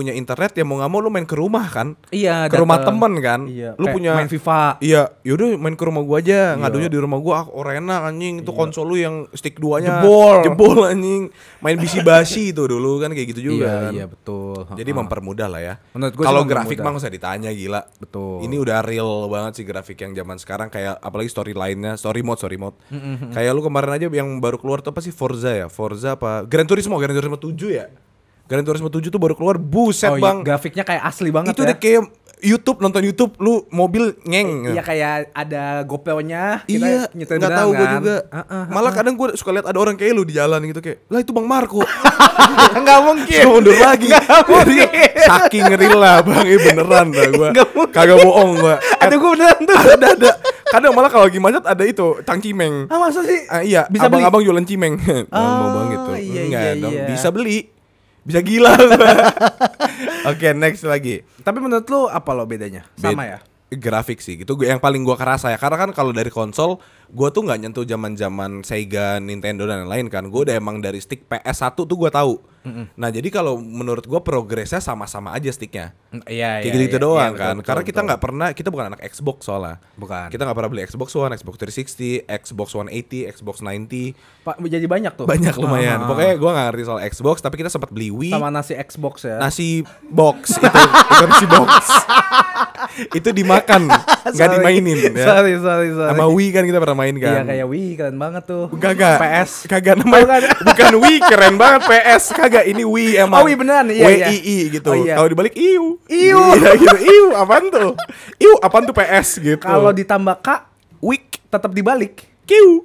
Speaker 1: internet ya mau nggak mau lu main ke rumah kan.
Speaker 2: Iya,
Speaker 1: ke rumah
Speaker 2: dateng.
Speaker 1: temen kan.
Speaker 2: Iya,
Speaker 1: Lu
Speaker 2: kayak
Speaker 1: punya
Speaker 2: main FIFA.
Speaker 1: Iya, yaudah main ke rumah gua aja.
Speaker 2: Iya.
Speaker 1: Ngadunya di rumah gua, Orena anjing itu konsol lu yang stick 2-nya
Speaker 2: Jebol
Speaker 1: anjing. Main bisi-basi itu dulu kan kayak gitu juga kan.
Speaker 2: Iya, betul.
Speaker 1: Jadi mempermudah lah ya.
Speaker 2: Menurut gua
Speaker 1: Kalau
Speaker 2: sih
Speaker 1: grafik
Speaker 2: mempermudah.
Speaker 1: mah nggak usah ditanya gila.
Speaker 2: Betul.
Speaker 1: Ini udah real banget sih grafik yang zaman sekarang kayak apalagi storyline-nya, story mode. Kayak lu kemarin aja yang baru keluar tuh apa sih Forza ya? Forza apa? Gran Turismo 7 ya? Gran Turismo 7 tuh baru keluar, buset
Speaker 2: iya,
Speaker 1: bang.
Speaker 2: grafiknya kayak asli banget
Speaker 1: Itu
Speaker 2: ya.
Speaker 1: udah kayak YouTube, nonton YouTube lu mobil ngeng.
Speaker 2: Iya kayak ada GoPro-nya.
Speaker 1: Iya,
Speaker 2: nyetir
Speaker 1: nggak
Speaker 2: beneran
Speaker 1: tahu gue
Speaker 2: kan?
Speaker 1: juga. Malah kadang gue suka lihat ada orang kayak lu di jalan gitu kayak, lah itu Bang Marco.
Speaker 2: Nggak mungkin.
Speaker 1: Suka mundur lagi.
Speaker 2: Nggak mungkin.
Speaker 1: Saking real lah bang, beneran dah gue.
Speaker 2: Nggak mungkin.
Speaker 1: Kagak bohong gue.
Speaker 2: Ada gue beneran tuh.
Speaker 1: Ada. Kadang malah kalau lagi macet ada itu cangcimeng.
Speaker 2: Ah masa sih?
Speaker 1: Iya,
Speaker 2: Bisa beli?
Speaker 1: abang-abang jualan cimeng. Mau bang gitu.
Speaker 2: Iya,
Speaker 1: Enggak
Speaker 2: iya,
Speaker 1: dong,
Speaker 2: iya.
Speaker 1: bisa beli. Bisa gila. Oke, next lagi.
Speaker 2: Tapi menurut lu apa lo bedanya? Sama ya?
Speaker 1: Grafik sih gitu yang paling gua kerasa ya, karena kan kalau dari konsol gua tuh nggak nyentuh zaman Sega, Nintendo dan lain-lain kan. Gua udah emang dari stick PS1 tuh gua tahu. Nah jadi kalau menurut gua progresnya sama-sama aja sticknya
Speaker 2: Iya,
Speaker 1: kayak gitu doang
Speaker 2: iya,
Speaker 1: kan.
Speaker 2: betul,
Speaker 1: Karena
Speaker 2: betul,
Speaker 1: kita
Speaker 2: betul.
Speaker 1: nggak pernah, kita bukan anak Xbox soalnya.
Speaker 2: Bukan.
Speaker 1: Kita nggak pernah beli Xbox One, Xbox 360, Xbox 180, Xbox 90.
Speaker 2: Pak jadi banyak tuh.
Speaker 1: Banyak lumayan.
Speaker 2: Ah.
Speaker 1: Pokoknya gua nggak ngerti soal Xbox, tapi kita sempat beli Wii.
Speaker 2: Sama nasi Xbox ya.
Speaker 1: Nasi box itu nasi box. Itu dimakan, nggak
Speaker 2: Sorry.
Speaker 1: dimainin ya.
Speaker 2: Sorry.
Speaker 1: Sama Wii kan kita pernah main
Speaker 2: Iya
Speaker 1: kan.
Speaker 2: kayak Wii keren banget tuh.
Speaker 1: Kagak.
Speaker 2: PS.
Speaker 1: Kagak namanya. Bukan Wii keren banget PS. Kagak ini Wii emang.
Speaker 2: Oh, Wii beneran, iya, iya.
Speaker 1: WII gitu.
Speaker 2: Oh, iya.
Speaker 1: Kalau dibalik iu.
Speaker 2: Iu.
Speaker 1: Iya gitu. Iu apaan tuh? Iu apaan tuh PS gitu.
Speaker 2: Kalau ditambah K,
Speaker 1: Wik
Speaker 2: tetap dibalik.
Speaker 1: Kiu.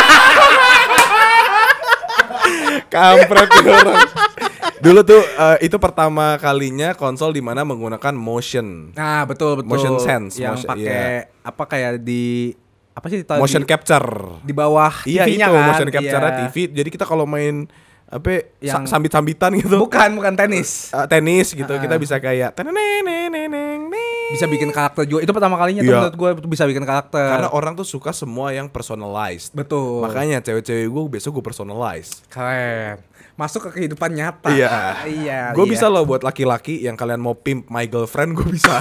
Speaker 1: Kampret tuh orang. Dulu tuh itu pertama kalinya konsol di mana menggunakan motion.
Speaker 2: Nah, betul.
Speaker 1: Motion sense,
Speaker 2: Yang
Speaker 1: motion,
Speaker 2: pakai apa kayak di apa sih tadi?
Speaker 1: Motion capture.
Speaker 2: Di bawah
Speaker 1: Iya
Speaker 2: TV-nya
Speaker 1: itu
Speaker 2: kan.
Speaker 1: motion capture
Speaker 2: Iya.
Speaker 1: TV. Jadi kita kalau main apa
Speaker 2: Yang-
Speaker 1: sambit-sambitan gitu.
Speaker 2: Bukan tenis.
Speaker 1: Tenis gitu kita bisa kayak
Speaker 2: Bisa bikin karakter juga. Itu pertama kalinya tuh
Speaker 1: Iya.
Speaker 2: menurut gue bisa bikin karakter.
Speaker 1: karena orang tuh suka semua yang personalized.
Speaker 2: Betul.
Speaker 1: Makanya cewek-cewek gue besok gue personalize.
Speaker 2: Keren. Masuk ke kehidupan nyata.
Speaker 1: Iya.
Speaker 2: Iya.
Speaker 1: Gue bisa loh buat laki-laki yang kalian mau pimp my girlfriend gue bisa.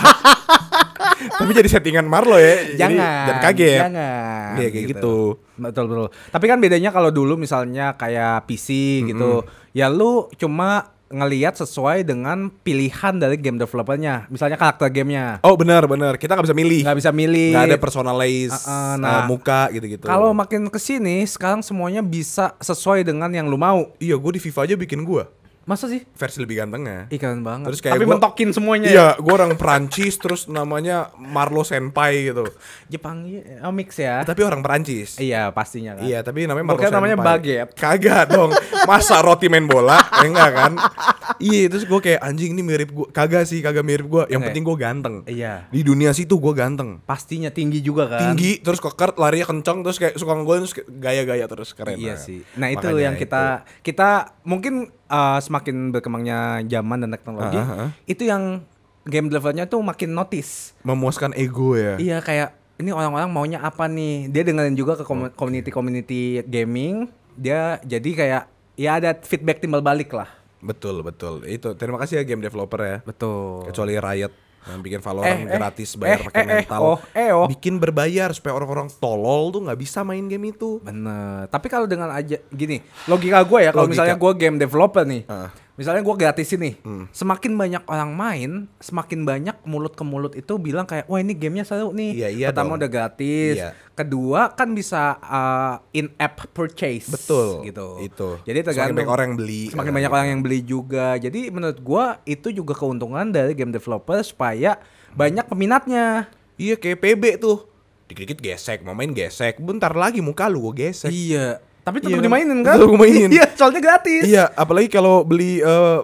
Speaker 1: Tapi jadi settingan Marlo ya. Jadi
Speaker 2: Jangan.
Speaker 1: jangan kaget.
Speaker 2: Jangan.
Speaker 1: Iya kayak gitu.
Speaker 2: Betul. Tapi kan bedanya kalau dulu misalnya kayak PC gitu, ya lu cuma ngelihat sesuai dengan pilihan dari game developernya. Misalnya karakter gamenya.
Speaker 1: Oh benar. Kita nggak bisa milih.
Speaker 2: Nggak bisa milih.
Speaker 1: Nggak ada personalize
Speaker 2: nah,
Speaker 1: muka gitu-gitu.
Speaker 2: Kalau makin kesini, sekarang semuanya bisa sesuai dengan yang lu mau.
Speaker 1: Iya gue di FIFA aja bikin gue
Speaker 2: Masa sih?
Speaker 1: versi lebih gantengnya.
Speaker 2: Keren banget.
Speaker 1: Terus kayak
Speaker 2: tapi
Speaker 1: gua-
Speaker 2: mentokin semuanya.
Speaker 1: Iya, gue orang Perancis terus namanya Marlo Senpai gitu.
Speaker 2: Jepang mix ya.
Speaker 1: Tapi orang Perancis.
Speaker 2: Iya, pastinya kan.
Speaker 1: Iya, tapi namanya
Speaker 2: Gua
Speaker 1: Marlo
Speaker 2: kira namanya
Speaker 1: Senpai.
Speaker 2: baguette.
Speaker 1: Kagak dong. Masa roti main bola? Enggak kan? Iya, terus gue kayak anjing ini mirip gue. Kagak mirip gue. Yang
Speaker 2: Enggak.
Speaker 1: penting gue ganteng.
Speaker 2: Iya.
Speaker 1: Di dunia situ gue ganteng.
Speaker 2: Pastinya tinggi juga kan.
Speaker 1: Tinggi, terus keker, larinya kencang, terus kayak suka ngegolin, terus kayak gaya-gaya terus keren.
Speaker 2: Iya
Speaker 1: banget.
Speaker 2: sih. Nah itu
Speaker 1: Makanya
Speaker 2: yang kita mungkin semakin berkembangnya zaman dan teknologi, itu yang game developernya tuh makin notice.
Speaker 1: Memuaskan ego ya.
Speaker 2: Iya kayak ini orang-orang maunya apa nih? Dia dengerin juga ke community gaming. Dia jadi kayak ya ada feedback timbal balik lah.
Speaker 1: Betul. Itu terima kasih ya game developer ya.
Speaker 2: Betul.
Speaker 1: Kecuali Riot yang bikin Valorant gratis bayar pakai mental.
Speaker 2: oh.
Speaker 1: Bikin berbayar supaya orang-orang tolol tuh nggak bisa main game itu.
Speaker 2: Bener. Tapi kalau dengan aja gini, logika gue ya kalau
Speaker 1: Logika.
Speaker 2: misalnya gue game developer nih,
Speaker 1: Ah.
Speaker 2: misalnya gue gratisin nih, semakin banyak orang main, semakin banyak mulut ke mulut itu bilang kayak, wah ini gamenya seru nih.
Speaker 1: Iya, iya
Speaker 2: Pertama
Speaker 1: dong.
Speaker 2: udah gratis,
Speaker 1: Iya.
Speaker 2: kedua kan bisa in-app purchase.
Speaker 1: Betul.
Speaker 2: Gitu.
Speaker 1: Itu.
Speaker 2: Jadi
Speaker 1: Semakin
Speaker 2: tergantung.
Speaker 1: banyak orang yang beli.
Speaker 2: Semakin banyak orang yang beli juga. Jadi menurut gue itu juga keuntungan dari game developer supaya banyak peminatnya.
Speaker 1: Iya kayak PB tuh. Dikit-dikit gesek, mau main gesek. Bentar lagi muka lu gue gesek.
Speaker 2: Iya. Tapi tetap
Speaker 1: Iya kan?
Speaker 2: dimainin kan?
Speaker 1: Tetap dimainin.
Speaker 2: Iya, soalnya gratis.
Speaker 1: Iya, apalagi kalau beli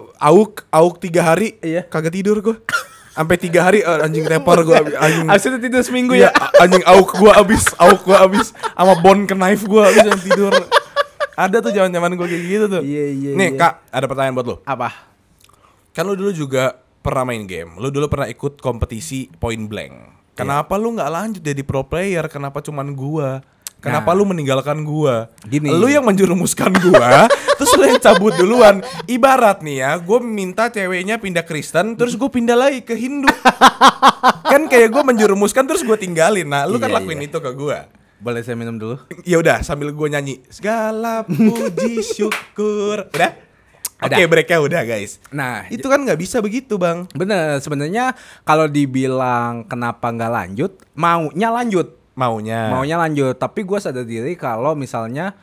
Speaker 1: AUK 3 hari,
Speaker 2: Iya.
Speaker 1: kagak tidur gue. Sampai 3 hari anjing repor gue anjing.
Speaker 2: Abis itu tidur seminggu
Speaker 1: Iya,
Speaker 2: ya.
Speaker 1: anjing AUK gue abis sama bone ke knife gue abis yang tidur. Ada tuh zaman-zaman gue kayak gitu tuh.
Speaker 2: Iya,
Speaker 1: Nih,
Speaker 2: iya.
Speaker 1: Kak, ada pertanyaan buat lo.
Speaker 2: Apa?
Speaker 1: Kan lu dulu juga pernah main game. Lu dulu pernah ikut kompetisi Point Blank. Kenapa lu nggak lanjut jadi pro player? Kenapa cuman gua? Kenapa lu meninggalkan gua?
Speaker 2: Gini.
Speaker 1: Lu yang menjerumuskan gua, terus lu yang cabut duluan. Ibarat nih ya, gua minta ceweknya pindah Kristen, terus gua pindah lagi ke Hindu. Kan kayak gua menjerumuskan terus gua tinggalin. Nah, lu kan
Speaker 2: Iya,
Speaker 1: lakuin itu ke gua.
Speaker 2: Boleh saya minum dulu?
Speaker 1: Ya udah, sambil gua nyanyi segala puji syukur. Udah? Oke, breaknya udah guys.
Speaker 2: Nah,
Speaker 1: Itu kan nggak bisa begitu, Bang.
Speaker 2: bener, sebenarnya kalau dibilang kenapa nggak lanjut, maunya lanjut. Maunya lanjut, tapi gue sadar diri kalau misalnya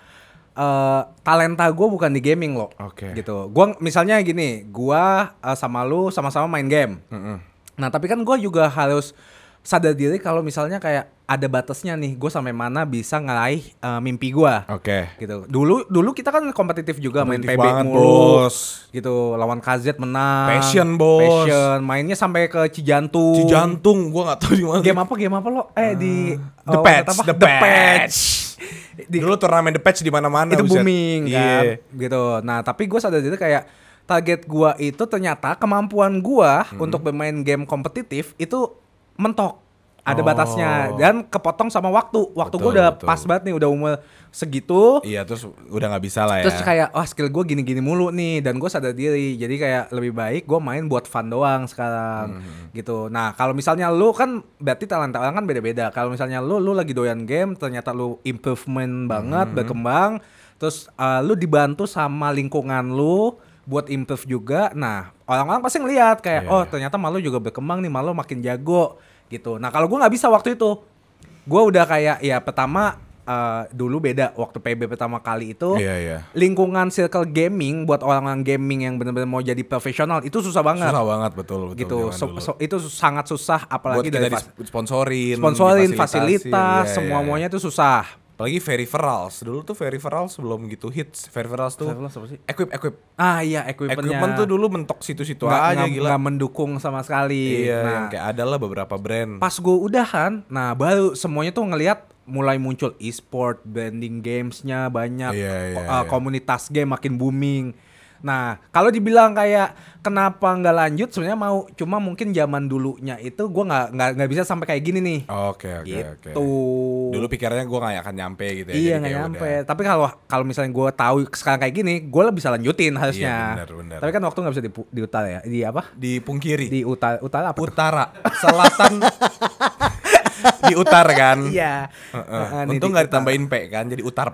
Speaker 2: talenta gue bukan di gaming loh.
Speaker 1: Oke.
Speaker 2: Gitu. Gue misalnya gini, gue sama lu sama-sama main game. Nah tapi kan gue juga harus sadar diri kalau misalnya kayak ada batasnya nih, gue sampai mana bisa ngeraih mimpi gue.
Speaker 1: Oke.
Speaker 2: Gitu. Dulu kita kan kompetitif juga, main
Speaker 1: Kompetitif
Speaker 2: PB
Speaker 1: banget,
Speaker 2: mulu.
Speaker 1: Bos.
Speaker 2: Gitu, lawan KZ menang.
Speaker 1: Passion, Bos.
Speaker 2: Passion, mainnya sampai ke Cijantung.
Speaker 1: Cijantung, gua nggak tahu di mana.
Speaker 2: Game apa lo? Di
Speaker 1: The Patch. Dulu turnamen The Patch di mana-mana.
Speaker 2: Itu
Speaker 1: buset.
Speaker 2: booming kan, gitu. Nah tapi gue sadar diri kayak target gue itu ternyata kemampuan gue untuk bermain game kompetitif itu mentok. Ada batasnya dan kepotong sama waktu. Waktu gue udah pas banget nih, udah umur segitu.
Speaker 1: Iya, terus udah nggak bisa lah ya.
Speaker 2: Terus kayak skill gue gini-gini mulu nih, dan gue sadar diri. Jadi kayak lebih baik gue main buat fun doang sekarang gitu. Nah kalau misalnya lu kan berarti talenta orang kan beda-beda. Kalau misalnya lu lagi doyan game, ternyata lu improvement banget, berkembang. Terus lu dibantu sama lingkungan lu buat improve juga. Nah orang-orang pasti ngeliat kayak ternyata malu juga berkembang nih, malu makin jago gitu. Nah kalau gue nggak bisa waktu itu, gue udah kayak ya pertama dulu beda waktu PB pertama kali itu. Lingkungan circle gaming buat orang-orang gaming yang benar-benar mau jadi profesional itu susah banget.
Speaker 1: Susah banget, betul
Speaker 2: gitu. Itu sangat susah, apalagi
Speaker 1: buat
Speaker 2: dari
Speaker 1: sponsorin
Speaker 2: fasilitas, semuanya itu susah.
Speaker 1: Apalagi peripherals. Dulu tuh peripherals belum gitu hits. Peripherals tuh
Speaker 2: Apa sih?
Speaker 1: equip.
Speaker 2: Iya, equipmentnya.
Speaker 1: Equipment tuh dulu mentok situ-situ aja gila.
Speaker 2: Nggak mendukung sama sekali.
Speaker 1: Iya,
Speaker 2: nah,
Speaker 1: yang kayak ada lah beberapa brand.
Speaker 2: Pas gue udahan, nah baru semuanya tuh ngelihat mulai muncul e-sport, branding gamesnya banyak, komunitas game makin booming. Nah kalau dibilang kayak kenapa nggak lanjut, sebenarnya mau, cuma mungkin zaman dulunya itu gue nggak bisa sampai kayak gini nih.
Speaker 1: Oke.
Speaker 2: Gitu.
Speaker 1: Dulu pikirannya gue nggak akan nyampe gitu ya.
Speaker 2: Iya nggak nyampe. Udah. Tapi kalau misalnya gue tahu sekarang kayak gini, gue bisa lanjutin harusnya.
Speaker 1: Iya, bener.
Speaker 2: Tapi kan waktu nggak bisa di utara ya. Di apa?
Speaker 1: Dipungkiri.
Speaker 2: Di utara apa?
Speaker 1: Utara, selatan. Di utara kan.
Speaker 2: Iya.
Speaker 1: Untung nggak ditambahin P kan, jadi utar.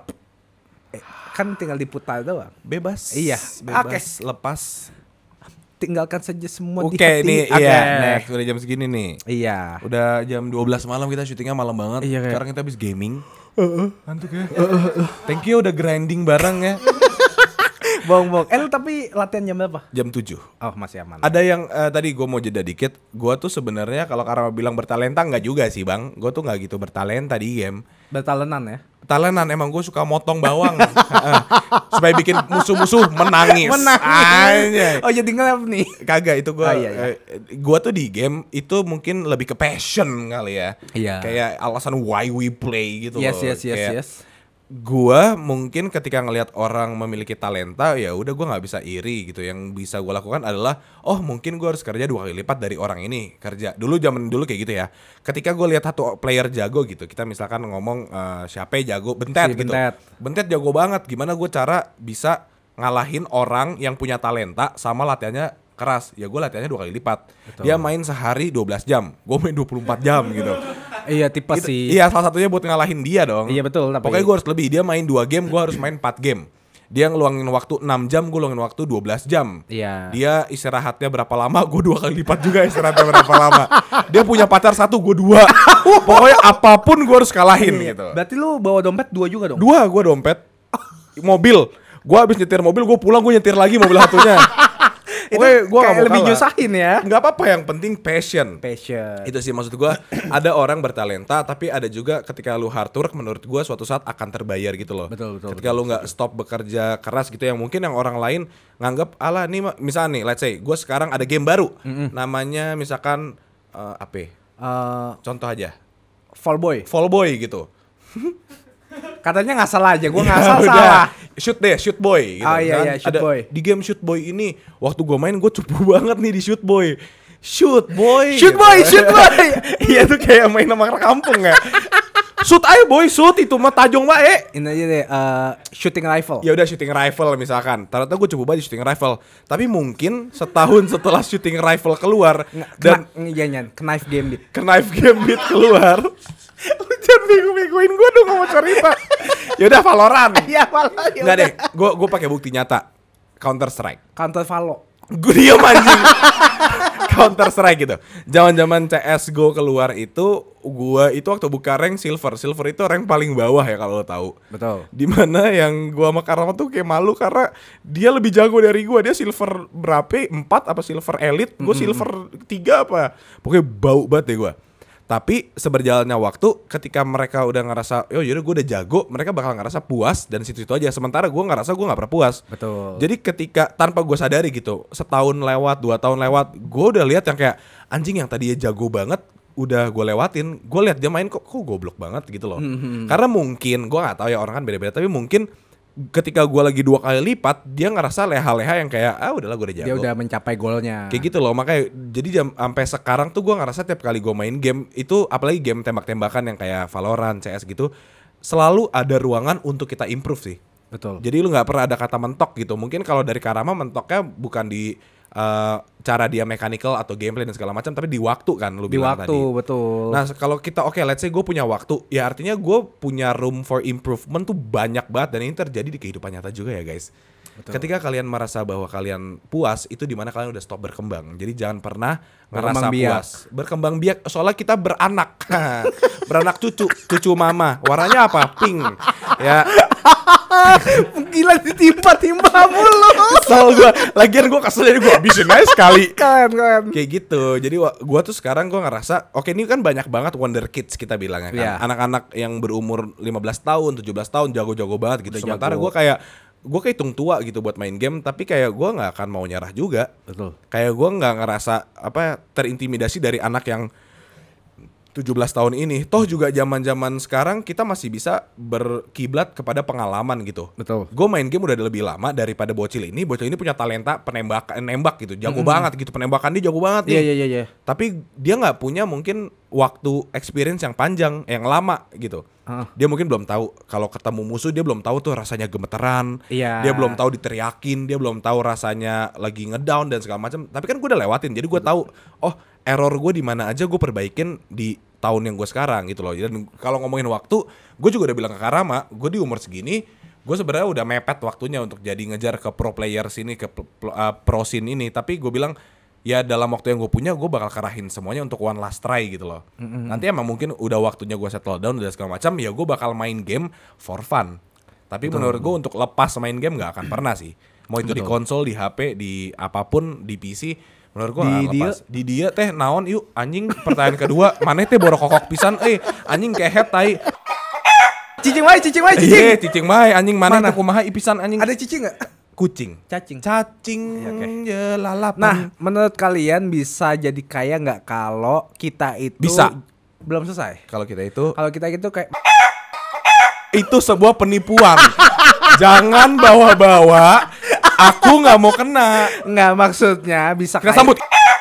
Speaker 2: Kan tinggal diputar doang.
Speaker 1: Bebas.
Speaker 2: Iya.
Speaker 1: Bebas. Lepas.
Speaker 2: Tinggalkan saja semua di
Speaker 1: Oke,
Speaker 2: hati.
Speaker 1: nih iya. Next, udah jam segini nih.
Speaker 2: Iya.
Speaker 1: Udah jam 12 malam, kita syutingnya malam banget.
Speaker 2: Iya,
Speaker 1: sekarang kita habis gaming. Ngantuk ya. Thank you udah grinding bareng ya.
Speaker 2: Bohong. Lu tapi latihan jam berapa?
Speaker 1: Jam 7.
Speaker 2: Oh, masih aman.
Speaker 1: Ada yang tadi gue mau jeda dikit. Gue tuh sebenarnya kalau Karma bilang bertalenta, nggak juga sih bang. Gue tuh nggak gitu bertalenta di game.
Speaker 2: Bertalenan ya?
Speaker 1: Talenan, emang gue suka motong bawang. Supaya bikin musuh-musuh menangis.
Speaker 2: Oh jadi ngelap nih.
Speaker 1: Kagak, itu gue.
Speaker 2: Iya.
Speaker 1: Gue tuh di game itu mungkin lebih ke passion kali ya.
Speaker 2: Iya.
Speaker 1: Kayak alasan why we play gitu loh.
Speaker 2: Yes.
Speaker 1: Gua mungkin ketika ngelihat orang memiliki talenta, ya udah gue nggak bisa iri gitu. Yang bisa gue lakukan adalah mungkin gue harus kerja 2 kali lipat dari orang ini kerja. Zaman dulu kayak gitu ya. Ketika gue lihat satu player jago gitu, kita misalkan ngomong siapa jago, Bentet gitu. Bentet jago banget. Gimana gue cara bisa ngalahin orang yang punya talenta sama latihannya keras? Ya gue latihannya 2 kali lipat. Betul. Dia main sehari 12 jam, gue main 24 jam gitu.
Speaker 2: Iya tipe gitu, sih.
Speaker 1: Iya, salah satunya buat ngalahin dia dong.
Speaker 2: Iya betul.
Speaker 1: Pokoknya gue harus lebih. Dia main 2 game, gue harus main 4 game. Dia ngeluangin waktu 6 jam, gue ngeluangin waktu 12 jam.
Speaker 2: Iya.
Speaker 1: Dia istirahatnya berapa lama, gue 2 kali lipat juga istirahatnya berapa lama. Dia punya pacar 1, gue 2. Pokoknya apapun gue harus kalahin gitu.
Speaker 2: Berarti lu bawa dompet 2 juga dong?
Speaker 1: 2 gue dompet. Mobil. Gue abis nyetir mobil, gue pulang gue nyetir lagi mobil satunya.
Speaker 2: Gue gak mau lebih nyusahin ya.
Speaker 1: Gak apa-apa, yang penting passion.
Speaker 2: Itu
Speaker 1: sih maksud gue. Ada orang bertalenta, tapi ada juga ketika lu hard work, menurut gue suatu saat akan terbayar gitu loh.
Speaker 2: Betul.
Speaker 1: Ketika lu gak stop bekerja keras gitu, yang mungkin yang orang lain nganggap alah nih, misalnya nih let's say gue sekarang ada game baru, namanya misalkan contoh aja
Speaker 2: Fall Boy
Speaker 1: gitu.
Speaker 2: Katanya nggak salah aja, gue nggak salah.
Speaker 1: Shoot boy gitu.
Speaker 2: Iya, shoot boy.
Speaker 1: Di game shoot boy ini, waktu gue main gue cupu banget nih di shoot boy. Shoot boy.
Speaker 2: Iya tuh
Speaker 1: kayak main nama kampung ya. Shoot aja boy, shoot itu mah tajong bae.
Speaker 2: Ini aja deh, shooting rifle.
Speaker 1: Ya udah shooting rifle misalkan. Ternyata gue coba aja shooting rifle. Tapi mungkin setahun setelah shooting rifle keluar dan
Speaker 2: knife gambit.
Speaker 1: Knife gambit keluar. Lu jangan bego-begoin gue dong ngomong cerita. Ya udah Valorant.
Speaker 2: Iya, Valorant.
Speaker 1: Enggak deh, gue pakai bukti nyata. Counter Strike.
Speaker 2: Counter Valo.
Speaker 1: Gue diam anjing. Counter Strike gitu. Zaman-zaman CS:GO keluar itu gua itu waktu buka rank silver. Silver itu rank paling bawah ya kalau lo tahu.
Speaker 2: Betul.
Speaker 1: Dimana yang gua sama Karama tuh kayak malu karena dia lebih jago dari gua. Dia silver berapa? 4 apa silver elite? Gue silver 3 apa? Pokoknya bau banget deh gua. Tapi seberjalannya waktu ketika mereka udah ngerasa yaudah gue udah jago, mereka bakal ngerasa puas dan situ-situ aja. Sementara gue ngerasa gue gak pernah puas.
Speaker 2: Betul.
Speaker 1: Jadi ketika tanpa gue sadari gitu, setahun lewat, 2 tahun lewat, gue udah lihat yang kayak anjing yang tadinya jago banget udah gue lewatin. Gue lihat dia main kok goblok banget gitu loh. Karena mungkin gue gak tahu ya, orang kan beda-beda, tapi mungkin ketika gue lagi 2 kali lipat, dia ngerasa leha-leha yang kayak udahlah gue udah jago.
Speaker 2: Dia udah mencapai golnya.
Speaker 1: Kayak gitu loh, makanya jadi sampai sekarang tuh gue ngerasa tiap kali gue main game itu, apalagi game tembak-tembakan yang kayak Valorant, CS gitu, selalu ada ruangan untuk kita improve sih.
Speaker 2: Betul.
Speaker 1: Jadi lu nggak pernah ada kata mentok gitu. Mungkin kalau dari Karama mentoknya bukan di cara dia mechanical atau gameplay dan segala macam, tapi di waktu kan lu bilang tadi.
Speaker 2: Di waktu, betul.
Speaker 1: Nah kalau kita let's say gue punya waktu, ya artinya gue punya room for improvement tuh banyak banget, dan ini terjadi di kehidupan nyata juga ya guys. Betul. Ketika kalian merasa bahwa kalian puas, itu dimana kalian udah stop berkembang. Jadi jangan pernah ngerasa puas. Berkembang biak, soalnya kita beranak. Beranak cucu mama. Warnanya apa? Pink. Ya.
Speaker 2: Gila ditimpa-timpa mulu.
Speaker 1: Kesel gue. Lagian gue kesel, jadi gue habisin aja sekali.
Speaker 2: Keren.
Speaker 1: Kayak gitu. Jadi gue tuh sekarang gue ngerasa, oke ini kan banyak banget wonder kids kita bilangnya kan.
Speaker 2: Yeah.
Speaker 1: Anak-anak yang berumur 15 tahun, 17 tahun, jago-jago banget gitu. Sementara gue kayak hitung tua gitu buat main game, tapi kayak gue nggak akan mau nyerah juga.
Speaker 2: Betul.
Speaker 1: Kayak gue nggak ngerasa terintimidasi dari anak yang 17 tahun ini. Toh juga zaman-zaman sekarang kita masih bisa berkiblat kepada pengalaman gitu.
Speaker 2: Betul.
Speaker 1: Gue main game udah lebih lama daripada bocil ini. Bocil ini punya talenta nembak gitu, jago banget gitu, penembakan dia jago banget nih.
Speaker 2: Iya.
Speaker 1: Tapi dia nggak punya mungkin waktu experience yang panjang, yang lama gitu. Dia mungkin belum tahu kalau ketemu musuh, dia belum tahu tuh rasanya gemeteran.
Speaker 2: Iya.
Speaker 1: Dia belum tahu diteriakin, dia belum tahu rasanya lagi ngedown dan segala macam. Tapi kan gue udah lewatin, jadi gue tahu error gue di mana aja gue perbaikin di tahun yang gue sekarang gitu loh. Dan kalau ngomongin waktu, gue juga udah bilang ke Karama, gue di umur segini, gue sebenarnya udah mepet waktunya untuk jadi ngejar ke pro player sini, ke pro scene ini. Tapi gue bilang, ya dalam waktu yang gue punya, gue bakal karahin semuanya untuk one last try gitu loh. Nanti emang mungkin udah waktunya gue settle down udah segala macam, ya gue bakal main game for fun. Tapi menurut gue untuk lepas main game gak akan pernah sih. Mau itu di konsol, di HP, di apapun, di PC, menurut gue gak lepas. Di dia teh naon yuk anjing. Pertanyaan kedua, mana teh borok kokok pisan anjing kehet tai.
Speaker 2: Cicing wae.
Speaker 1: Iya cicing wae anjing, mana teh kumaha ipisan anjing.
Speaker 2: Ada cicing gak?
Speaker 1: Kucing.
Speaker 2: Cacing.
Speaker 1: Ya lalapan.
Speaker 2: Nah, menurut kalian bisa jadi kaya nggak kalau kita itu
Speaker 1: bisa.
Speaker 2: Belum selesai.
Speaker 1: Kalau kita itu
Speaker 2: kayak
Speaker 1: itu sebuah penipuan. Jangan bawa-bawa. Aku nggak mau kena.
Speaker 2: Nggak, maksudnya bisa
Speaker 1: Kita
Speaker 2: kaya.
Speaker 1: sambut.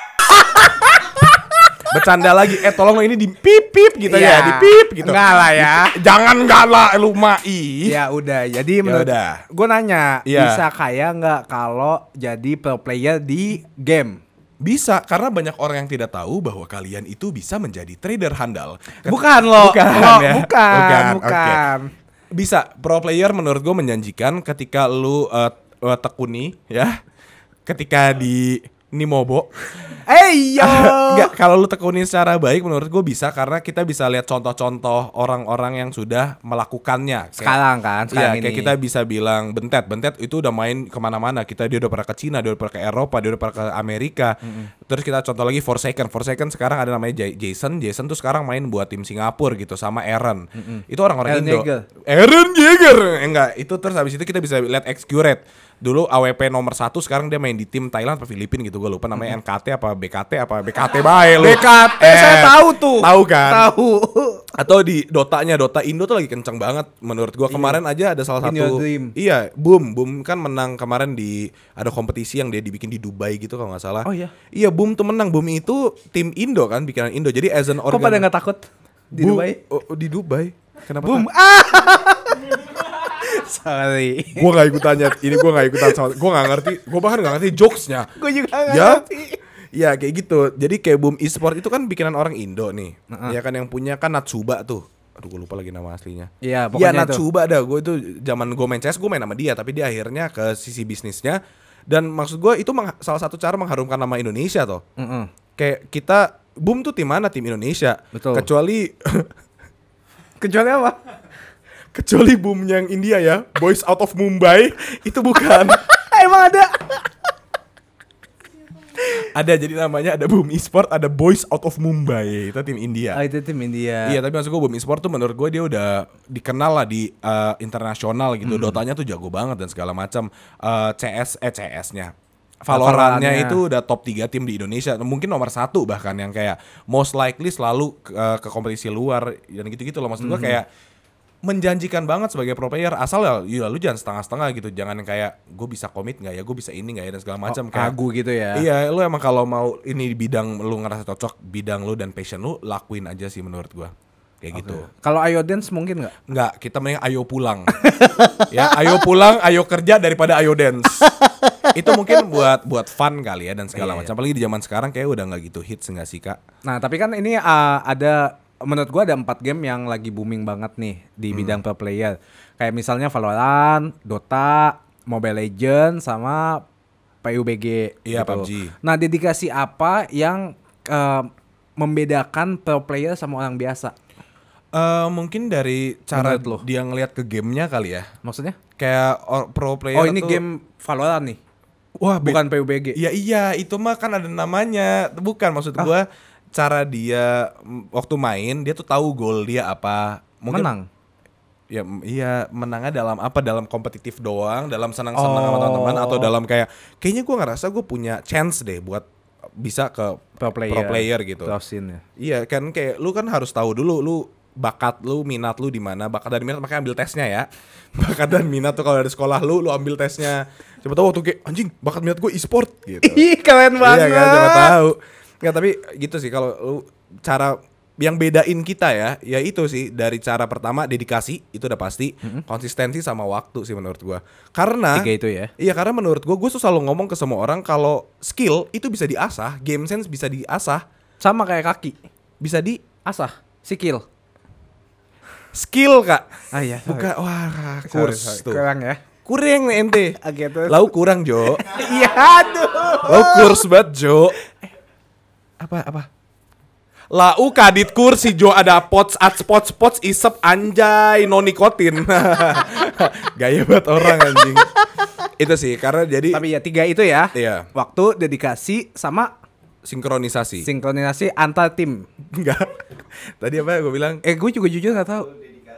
Speaker 1: Bercanda lagi, tolong ini di pip gitu ya, di pip gitu.
Speaker 2: Enggak lah ya.
Speaker 1: Jangan galak lu mai.
Speaker 2: Ya udah, jadi menurut gue nanya, bisa kaya nggak kalau jadi pro player di game?
Speaker 1: Bisa, karena banyak orang yang tidak tahu bahwa kalian itu bisa menjadi trader handal.
Speaker 2: Bukan loh,
Speaker 1: Bukan.
Speaker 2: bukan.
Speaker 1: Bisa, pro player menurut gue menjanjikan ketika lu tekuni ya, ketika di Nimobo. Enggak, kalau lu tekuni secara baik menurut gue bisa, karena kita bisa lihat contoh-contoh orang-orang yang sudah melakukannya.
Speaker 2: Sekarang
Speaker 1: Iya,
Speaker 2: ini.
Speaker 1: kayak kita bisa bilang Bentet itu udah main kemana-mana. Dia udah pernah ke Cina, dia udah pernah ke Eropa, dia udah pernah ke Amerika. Terus kita contoh lagi Forsaken sekarang ada namanya Jason tuh sekarang main buat tim Singapura gitu sama Aaron. Itu orang-orang Indo. Aaron Jaeger. Enggak, itu terus habis itu kita bisa lihat Xcurate. Dulu AWP nomor 1, sekarang dia main di tim Thailand atau Filipina gitu, gue lupa namanya. NKT apa BKT bae lu.
Speaker 2: BKT saya tahu tuh.
Speaker 1: Tahu kan?
Speaker 2: Tahu.
Speaker 1: Atau di Dota Indo tuh lagi kenceng banget menurut gua. Kemarin aja ada salah satu. Iya, Boom kan menang kemarin di ada kompetisi yang dia dibikin di Dubai gitu kalau nggak salah.
Speaker 2: Oh iya.
Speaker 1: Iya, Boom tuh menang. Boom itu tim Indo kan, bikinan Indo. Jadi as an
Speaker 2: Kok pada nggak takut di Dubai?
Speaker 1: Di Dubai. Kenapa?
Speaker 2: Boom. Sorry.
Speaker 1: Gue gak ikutannya. Ini gue gak ikutan sama. Gue gak ngerti. Gue bahkan gak ngerti jokesnya.
Speaker 2: Gue juga gak
Speaker 1: Ya,
Speaker 2: ngerti.
Speaker 1: ya kayak gitu. Jadi kayak Boom Esport itu kan bikinan orang Indo nih. Ya kan yang punya kan Natsuba tuh. Aduh gue lupa lagi nama aslinya.
Speaker 2: Iya,
Speaker 1: Ya
Speaker 2: pokoknya itu.
Speaker 1: Natsuba dah. Gue itu zaman gue main CS gue main sama dia. Tapi dia akhirnya ke sisi bisnisnya. Dan maksud gue itu salah satu cara mengharumkan nama Indonesia toh. Kayak kita Boom tuh tim mana? Tim Indonesia.
Speaker 2: Betul.
Speaker 1: Kecuali
Speaker 2: Kecuali apa?
Speaker 1: kecuali Boom yang India ya. Boys Out of Mumbai itu bukan.
Speaker 2: Emang ada?
Speaker 1: Ada, jadi namanya ada Boom Esport, ada Boys Out of Mumbai. Itu tim India.
Speaker 2: Oh, itu tim India.
Speaker 1: Iya, tapi maksud gue Boom Esport tuh menurut gue dia udah dikenal lah di internasional gitu. Dotanya tuh jago banget dan segala macam. CS-nya. Valorantnya itu udah top 3 tim di Indonesia. Mungkin nomor 1 bahkan yang kayak most likely selalu ke kompetisi luar dan gitu-gitu loh. Maksud gue kayak menjanjikan banget sebagai pro player, asal ya lu jangan setengah-setengah gitu, jangan yang kayak gue bisa komit nggak ya, gue bisa ini nggak ya dan segala macam. Kayak
Speaker 2: Kagu gitu ya.
Speaker 1: iya, lu emang kalau mau ini di bidang lu ngerasa cocok, bidang lu dan passion lu, lakuin aja sih menurut gue kayak gitu.
Speaker 2: Kalau Ayo Dance mungkin nggak?
Speaker 1: Nggak, kita mending ayo pulang. Ya, ayo pulang, ayo kerja daripada ayo dance. Itu mungkin buat fun kali ya dan segala macam. Apalagi di zaman sekarang kayak udah nggak gitu hits nggak sih Kak?
Speaker 2: Nah, tapi kan ini ada, menurut gua ada 4 game yang lagi booming banget nih di bidang pro player. Kayak misalnya Valorant, Dota, Mobile Legends, sama PUBG.
Speaker 1: Iya,
Speaker 2: gitu.
Speaker 1: PUBG.
Speaker 2: Nah, dedikasi apa yang membedakan pro player sama orang biasa?
Speaker 1: Mungkin dari cara
Speaker 2: Menurut lo?
Speaker 1: dia ngelihat ke gamenya kali ya.
Speaker 2: Maksudnya?
Speaker 1: Kayak pro player
Speaker 2: Oh, ini
Speaker 1: tuh,
Speaker 2: game Valorant nih.
Speaker 1: wah
Speaker 2: Bukan PUBG.
Speaker 1: Ya iya, itu mah kan ada namanya. Bukan, maksud gua cara dia waktu main dia tuh tahu goal dia apa. Mungkin
Speaker 2: Menang.
Speaker 1: Ya iya, menangnya dalam apa? Dalam kompetitif doang, dalam senang-senang sama teman-teman, atau dalam kayaknya gua ngerasa gue punya chance deh buat bisa ke
Speaker 2: Pro player
Speaker 1: gitu.
Speaker 2: Terusin ya.
Speaker 1: Iya kan, kayak lu kan harus tahu dulu lu bakat lu, minat lu di mana. Bakat dan minat makanya ambil tesnya ya. Bakat dan minat tuh kalau dari sekolah lu ambil tesnya. Siapa tahu waktu kayak anjing, bakat minat gue e-sport gitu.
Speaker 2: Ih, keren banget.
Speaker 1: Iya kan, siapa tahu. Nggak, tapi gitu sih kalau lu, cara yang bedain kita ya itu sih dari cara pertama dedikasi, itu udah pasti, konsistensi sama waktu sih menurut gua. Karena
Speaker 2: 3 itu ya.
Speaker 1: Iya, karena menurut gua tuh selalu ngomong ke semua orang kalau skill itu bisa diasah, game sense bisa diasah,
Speaker 2: Sama kayak kaki.
Speaker 1: bisa di
Speaker 2: Asah, skill.
Speaker 1: skill Kak.
Speaker 2: Ah iya,
Speaker 1: Bukan, wah, kurs tuh.
Speaker 2: Kurang ya.
Speaker 1: Kurang nih ente.
Speaker 2: Oke, terus.
Speaker 1: Lau kurang Jo.
Speaker 2: Iya, aduh.
Speaker 1: Lau kurs banget Jo. Apa? Lau kadit kursi Jo, ada pots isep anjay no nikotin. Gaya banget orang anjing. Itu sih karena jadi
Speaker 2: Tapi ya 3 itu ya.
Speaker 1: Iya.
Speaker 2: Waktu, dedikasi, sama
Speaker 1: sinkronisasi.
Speaker 2: sinkronisasi antar tim.
Speaker 1: Enggak. Tadi apa gue bilang?
Speaker 2: Gue juga jujur nggak tahu.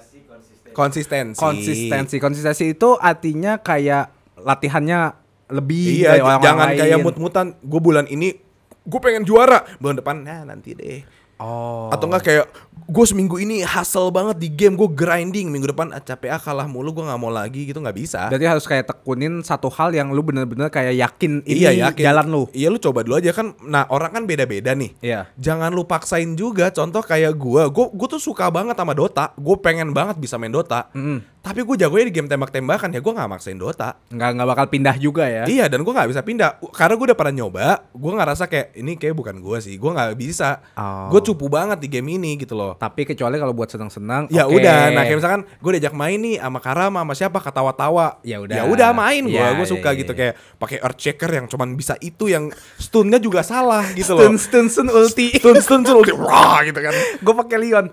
Speaker 1: Konsistensi.
Speaker 2: Konsistensi itu artinya kayak latihannya lebih
Speaker 1: Iya,
Speaker 2: dari orang
Speaker 1: jangan
Speaker 2: lain.
Speaker 1: kayak mut-mutan. Gue bulan ini gue pengen juara, bulan depan nanti deh.
Speaker 2: Oh.
Speaker 1: Atau enggak kayak gue seminggu ini hustle banget di game, gue grinding, minggu depan capek kalah mulu, gue nggak mau lagi gitu, nggak bisa.
Speaker 2: Berarti harus kayak tekunin satu hal yang lu bener-bener kayak yakin ini
Speaker 1: Iya, yakin.
Speaker 2: jalan lu.
Speaker 1: Iya, lu coba dulu aja kan. Nah, orang kan beda-beda nih.
Speaker 2: Iya.
Speaker 1: Jangan lu paksain juga. Contoh kayak gue tuh suka banget sama Dota. Gue pengen banget bisa main Dota. Tapi gue jagonya di game tembak-tembakan, ya gue nggak maksain Dota.
Speaker 2: Nggak bakal pindah juga ya.
Speaker 1: Iya, dan gue nggak bisa pindah karena gue udah pernah nyoba. Gue ngerasa kayak ini kayak bukan gue sih. Gue nggak bisa.
Speaker 2: Oh.
Speaker 1: Gue cupu banget di game ini gitu loh.
Speaker 2: Tapi kecuali kalau buat senang-senang.
Speaker 1: Ya
Speaker 2: oke.
Speaker 1: udah, nah kayak misalkan gue diajak main nih sama Karama sama siapa, ketawa-tawa.
Speaker 2: Ya udah.
Speaker 1: Ya udah main gue.
Speaker 2: Ya,
Speaker 1: Gue suka
Speaker 2: ya,
Speaker 1: gitu
Speaker 2: ya.
Speaker 1: kayak pakai Earthshaker yang cuman bisa itu, yang stunnya juga salah gitu loh.
Speaker 2: Stun ulti.
Speaker 1: Stun ulti wah gitu kan.
Speaker 2: Gue pakai Leon.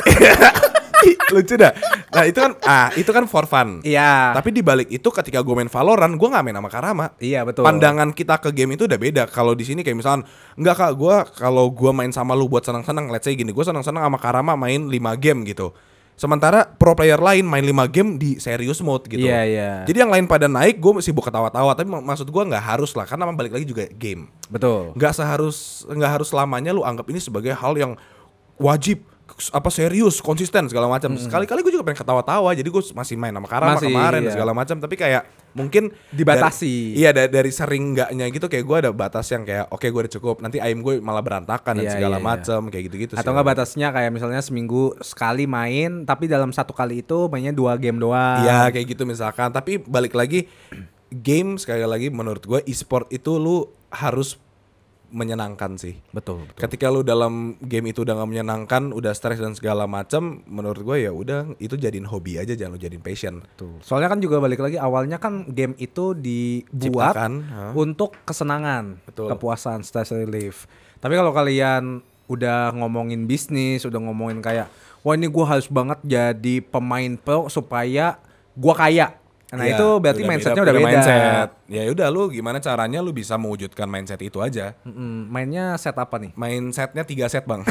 Speaker 1: Lucu dah. Nah, itu kan for fun.
Speaker 2: Iya.
Speaker 1: Tapi di balik itu ketika gue main Valorant, gue nggak main sama Karama.
Speaker 2: Iya, betul.
Speaker 1: Pandangan kita ke game itu udah beda. Kalau di sini kayak misalkan, enggak Kak, kalau gue main sama lu buat senang-senang, let's say gini, gue senang-senang sama Karama main 5 game gitu. Sementara pro player lain main 5 game di serious mode gitu.
Speaker 2: Iya, iya.
Speaker 1: Jadi yang lain pada naik, gue sibuk ketawa-tawa. Tapi maksud gue nggak harus lah, karena balik lagi juga game.
Speaker 2: Betul.
Speaker 1: Nggak harus selamanya lu anggap ini sebagai hal yang wajib. serius, konsisten segala macam. Sekali-kali gue juga pengen ketawa-tawa, jadi gue masih main sama Karama kemarin segala macam. Tapi kayak mungkin
Speaker 2: dibatasi.
Speaker 1: Dari sering enggaknya gitu, kayak gue ada batas yang kayak oke, gue udah cukup. Nanti aim gue malah berantakan dan segala macam kayak gitu-gitu.
Speaker 2: Atau nggak batasnya kayak misalnya seminggu sekali main, tapi dalam satu kali itu mainnya 2 game doang.
Speaker 1: Iya kayak gitu misalkan. Tapi balik lagi, game sekali lagi menurut gue e-sport itu lu harus menyenangkan sih.
Speaker 2: Betul.
Speaker 1: Ketika lu dalam game itu udah gak menyenangkan, udah stres dan segala macam, menurut gue ya udah itu jadiin hobi aja, jangan lu jadiin passion.
Speaker 2: Betul. Soalnya kan juga balik lagi, awalnya kan game itu dibuat untuk kesenangan, kepuasan, stress relief. Tapi kalau kalian udah ngomongin bisnis, udah ngomongin kayak wah ini gue harus banget jadi pemain pro supaya gue kaya. Nah itu berarti mindsetnya udah beda.
Speaker 1: Mindset. Ya udah, lu gimana caranya lu bisa mewujudkan mindset itu aja.
Speaker 2: Mainnya set apa nih?
Speaker 1: Mindsetnya 3 set bang.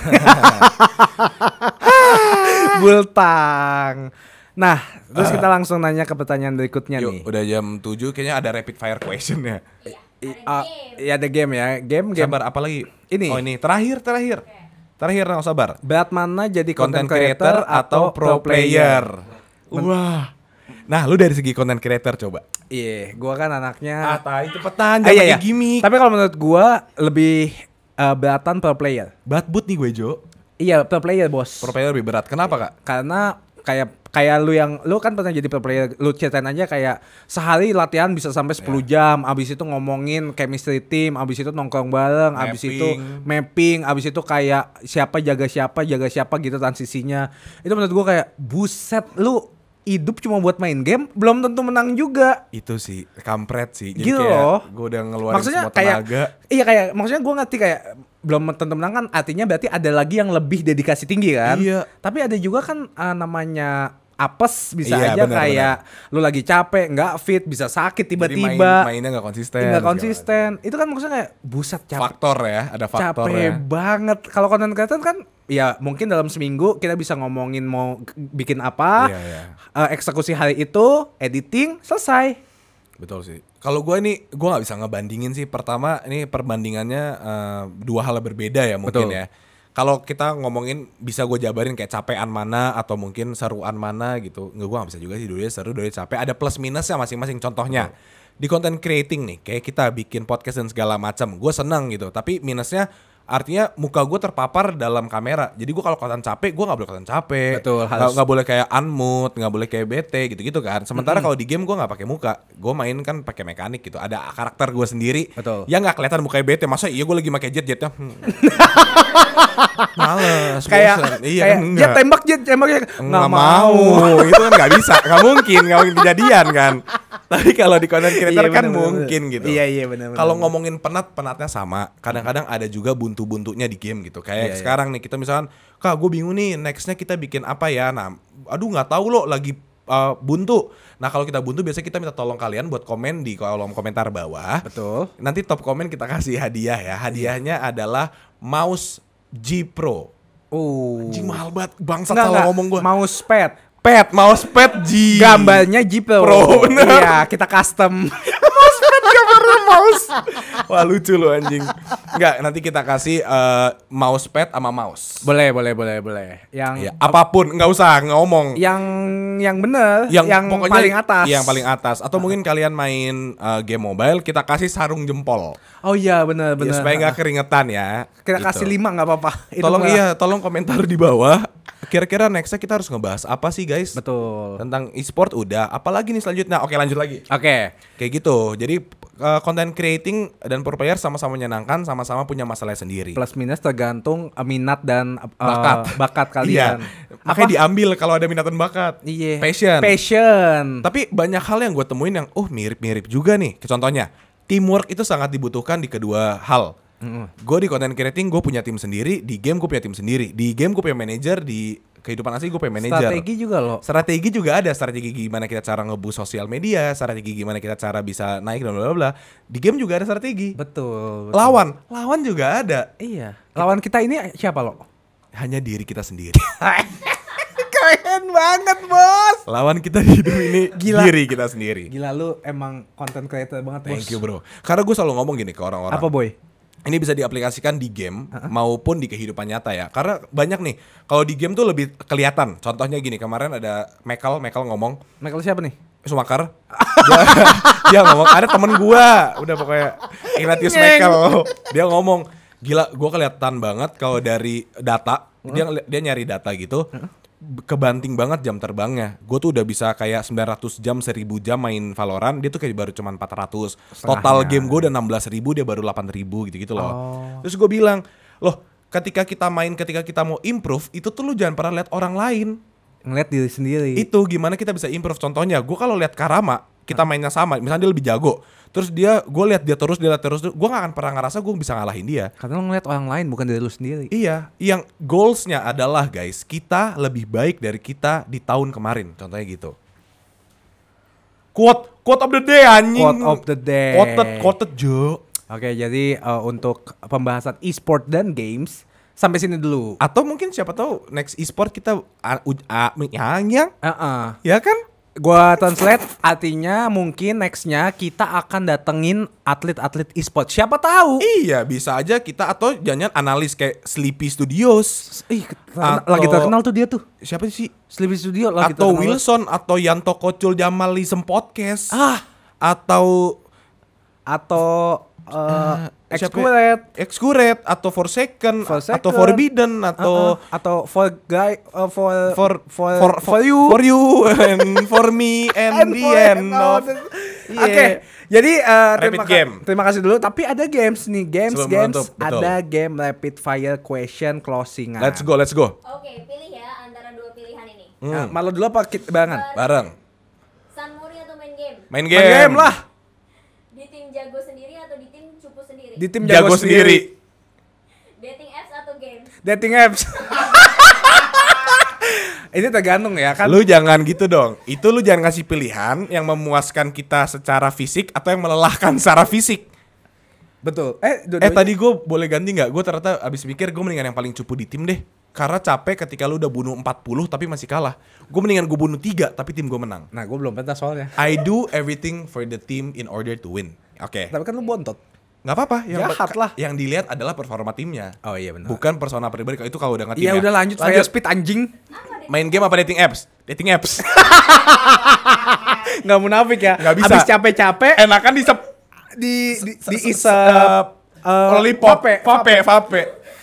Speaker 2: Bultang. Nah terus kita langsung nanya ke pertanyaan berikutnya.
Speaker 1: Yuk,
Speaker 2: nih.
Speaker 1: Udah jam 7 kayaknya ada rapid fire question ya.
Speaker 2: Iya ada game ya. Game.
Speaker 1: Sabar, apa lagi?
Speaker 2: Ini.
Speaker 1: Oh ini terakhir. Terakhir no, sabar.
Speaker 2: Berat mana jadi
Speaker 1: Content creator atau pro player? Wah. Nah, lu dari segi content creator coba.
Speaker 2: Iya, gua kan anaknya.
Speaker 1: Tai cepetan, jangan pakai gimmick.
Speaker 2: Tapi kalau menurut gua lebih beratan pro player.
Speaker 1: Berat but nih gue, Jo.
Speaker 2: Iya, pro player, Bos.
Speaker 1: Pro player lebih berat. Kenapa, Kak?
Speaker 2: Karena kayak lu kan pernah jadi pro player, lu ceritain aja kayak sehari latihan bisa sampai 10 jam, abis itu ngomongin chemistry team, abis itu nongkrong bareng, abis itu mapping, abis itu kayak siapa jaga siapa gitu transisinya. Itu menurut gua kayak buset, lu hidup cuma buat main game, belum tentu menang juga.
Speaker 1: Itu sih, kampret sih. Jadi
Speaker 2: gitu
Speaker 1: kayak
Speaker 2: loh.
Speaker 1: Gue udah ngeluarin
Speaker 2: maksudnya
Speaker 1: semua tenaga.
Speaker 2: Iya kayak, maksudnya gue ngerti kayak belum tentu menang kan, artinya berarti ada lagi yang lebih dedikasi tinggi kan.
Speaker 1: Iya.
Speaker 2: Tapi ada juga kan namanya apes, bisa
Speaker 1: iya,
Speaker 2: aja
Speaker 1: bener,
Speaker 2: kayak lu lagi capek, nggak fit, bisa sakit tiba-tiba.
Speaker 1: Mainnya nggak konsisten.
Speaker 2: Nggak konsisten. Itu kan maksudnya kayak buset capek.
Speaker 1: Faktor ya, ada faktor
Speaker 2: capek
Speaker 1: ya.
Speaker 2: banget. Kalau content creator kan ya mungkin dalam seminggu kita bisa ngomongin mau bikin apa, eksekusi hari itu, editing, selesai.
Speaker 1: Betul sih. Kalau gue nggak bisa ngebandingin sih. Pertama, ini perbandingannya 2 hal berbeda ya mungkin. Betul. Ya. Kalau kita ngomongin bisa gue jabarin kayak capean mana atau mungkin seruan mana gitu. Gue gak bisa juga sih, dulunya seru, dulunya capek. Ada plus minusnya masing-masing. Contohnya di content creating nih, kayak kita bikin podcast dan segala macam, gue seneng gitu. Tapi minusnya artinya muka gue terpapar dalam kamera. Jadi gue kalau kelihatan capek, gue gak boleh kelihatan capek.
Speaker 2: Betul.
Speaker 1: Gak boleh kayak unmood, gak boleh kayak bete gitu-gitu kan. Sementara kalau di game gue gak pakai muka, gue main kan pakai mekanik gitu. Ada karakter gue sendiri.
Speaker 2: Betul.
Speaker 1: Yang gak kelihatan mukanya bete. Masa iya gue lagi pakai jetnya. Males.
Speaker 2: Kayak
Speaker 1: iya,
Speaker 2: jet tembak nggak mau.
Speaker 1: Itu kan nggak bisa, nggak mungkin kejadian kan. Tapi kalau di content creator kan mungkin gitu.
Speaker 2: Iya benar.
Speaker 1: Kalau ngomongin penatnya sama. Kadang-kadang ada juga buntu-buntunya di game gitu. Kayak sekarang nih kita misalkan, Kak gue bingung nih nextnya kita bikin apa ya. Nah, aduh nggak tahu lo lagi buntu. Nah kalau kita buntu biasanya kita minta tolong kalian buat komen di kolom komentar bawah.
Speaker 2: Betul.
Speaker 1: Nanti top komen kita kasih hadiah ya. Hadiahnya adalah mouse G Pro. Anjing mahal banget. Bangsat salah ngomong gue.
Speaker 2: Mouse pad
Speaker 1: G.
Speaker 2: Gambarnya G Pro. Iya, kita custom.
Speaker 1: Gambarnya mouse. Wah lucu lu anjing. Enggak, nanti kita kasih mousepad sama mouse.
Speaker 2: Boleh. Yang
Speaker 1: ya, apapun, enggak usah ngomong.
Speaker 2: Yang bener, yang
Speaker 1: pokoknya
Speaker 2: paling atas.
Speaker 1: Yang paling atas. Atau mungkin kalian main game mobile, kita kasih sarung jempol.
Speaker 2: Oh iya, bener.
Speaker 1: Ya, supaya enggak keringetan ya.
Speaker 2: Kita
Speaker 1: gitu.
Speaker 2: kasih 5 enggak apa-apa.
Speaker 1: Tolong komentar di bawah. Kira-kira nextnya kita harus ngebahas apa sih guys?
Speaker 2: Betul.
Speaker 1: Tentang e-sport udah. Apalagi nih selanjutnya? Oke lanjut lagi.
Speaker 2: Oke.
Speaker 1: Kayak gitu. Jadi content creating dan pro player sama-sama menyenangkan, sama-sama punya masalah sendiri.
Speaker 2: Plus minus tergantung minat dan bakat
Speaker 1: Iya.
Speaker 2: kalian.
Speaker 1: Makanya diambil kalau ada minat dan bakat.
Speaker 2: Iya.
Speaker 1: Passion. Tapi banyak hal yang gue temuin yang mirip-mirip juga nih. Contohnya, teamwork itu sangat dibutuhkan di kedua hal. Gue di content creating gue punya tim sendiri, di game gue punya tim sendiri. Di game gue punya manajer, di kehidupan asli gue punya manajer.
Speaker 2: Strategi juga loh.
Speaker 1: Strategi juga ada, strategi gimana kita cara nge-boost sosial media, strategi gimana kita cara bisa naik dan bla bla. Di game juga ada strategi.
Speaker 2: Betul.
Speaker 1: Lawan juga ada.
Speaker 2: Iya. Lawan kita ini siapa lo?
Speaker 1: Hanya diri kita sendiri.
Speaker 2: Keren banget bos.
Speaker 1: Lawan kita di hidup ini diri kita sendiri.
Speaker 2: Gila lu emang content creator banget bos.
Speaker 1: Thank you bro. Karena gue selalu ngomong gini ke orang-orang.
Speaker 2: Apa boy?
Speaker 1: Ini bisa diaplikasikan di game maupun di kehidupan nyata ya. Karena banyak nih, kalau di game tuh lebih kelihatan. Contohnya gini, kemarin ada Michael ngomong.
Speaker 2: Michael siapa nih?
Speaker 1: Schumacher. dia ngomong, ada temen gua, udah pokoknya Ignatius Michael. Dia ngomong, gila, gua kelihatan banget kalau dari data, dia nyari data gitu. Kebanting banget jam terbangnya. Gue tuh udah bisa kayak 900 jam, 1000 jam main Valorant. Dia tuh kayak baru cuma 400. Total game gue udah 16.000, dia baru 8.000 gitu-gitu loh. Terus gue bilang, loh ketika kita mau improve, itu tuh lu jangan pernah lihat orang lain.
Speaker 2: Ngeliat diri sendiri.
Speaker 1: Itu gimana kita bisa improve. Contohnya, gue kalau lihat Karama, kita mainnya sama, misalnya dia lebih jago. Terus gue lihat dia terus, gue gak akan pernah ngerasa gue bisa ngalahin dia.
Speaker 2: Karena lo ngeliat orang lain bukan diri lu sendiri.
Speaker 1: Iya, yang goalsnya adalah guys, kita lebih baik dari kita di tahun kemarin, contohnya gitu. Quote of the day anjing.
Speaker 2: Quote of the day.
Speaker 1: Quoted Jo.
Speaker 2: Oke, jadi untuk pembahasan e-sport dan games sampai sini dulu.
Speaker 1: Atau mungkin siapa tahu next e-sport kita ya kan?
Speaker 2: Gua translate, artinya mungkin nextnya kita akan datengin atlet-atlet e-sport. Siapa tahu?
Speaker 1: Iya, bisa aja kita atau jangan analis kayak Sleepy Studios.
Speaker 2: Lagi terkenal tuh dia tuh.
Speaker 1: Siapa sih?
Speaker 2: Sleepy Studio lagi
Speaker 1: atau
Speaker 2: terkenal.
Speaker 1: Wilson atau Yanto Kocul Jamalism Podcast. Atau Excurate atau Forsaken atau Forbidden atau
Speaker 2: for you
Speaker 1: and for me and the end of
Speaker 2: Oke, jadi
Speaker 1: Rapid
Speaker 2: terima kasih dulu. Tapi ada games nih,
Speaker 1: Sebelum menutup, betul.
Speaker 2: ada game rapid fire question closingan.
Speaker 1: Let's go.
Speaker 3: Oke, pilih ya antara dua pilihan ini.
Speaker 2: Malu dulu apa barengan?
Speaker 1: Bareng.
Speaker 3: Sunmori atau main game?
Speaker 1: Main
Speaker 2: Main game lah.
Speaker 3: Di tim jago sendiri atau di tim cupu sendiri?
Speaker 2: Di tim
Speaker 1: Jago sendiri.
Speaker 3: Dating apps atau games?
Speaker 2: Dating apps. Ini tergantung ya kan.
Speaker 1: Lu jangan gitu dong. Itu lu jangan ngasih pilihan yang memuaskan kita secara fisik atau yang melelahkan secara fisik.
Speaker 2: Betul.
Speaker 1: Tadi gue boleh ganti nggak? Gue ternyata abis mikir gue mendingan yang paling cupu di tim deh. Karena capek ketika lu udah bunuh 40 tapi masih kalah. Gue mendingan gue bunuh 3 tapi tim gue menang.
Speaker 2: Nah, gue belum pernah soalnya.
Speaker 1: I do everything for the team in order to win. Oke.
Speaker 2: Tapi kan lu bontot.
Speaker 1: Nggak apa-apa.
Speaker 2: Jahat lah.
Speaker 1: Yang dilihat adalah performa timnya.
Speaker 2: Oh iya benar.
Speaker 1: Bukan persona pribadi. Itu kalau udah ngetim
Speaker 2: Iya
Speaker 1: ya.
Speaker 2: udah lanjut fire speed anjing.
Speaker 1: Main game apa dating apps? Dating apps.
Speaker 2: Nggak munafik ya.
Speaker 1: Nggak bisa.
Speaker 2: Habis capek-capek
Speaker 1: Enakan
Speaker 2: isep
Speaker 1: lollipop. Vape.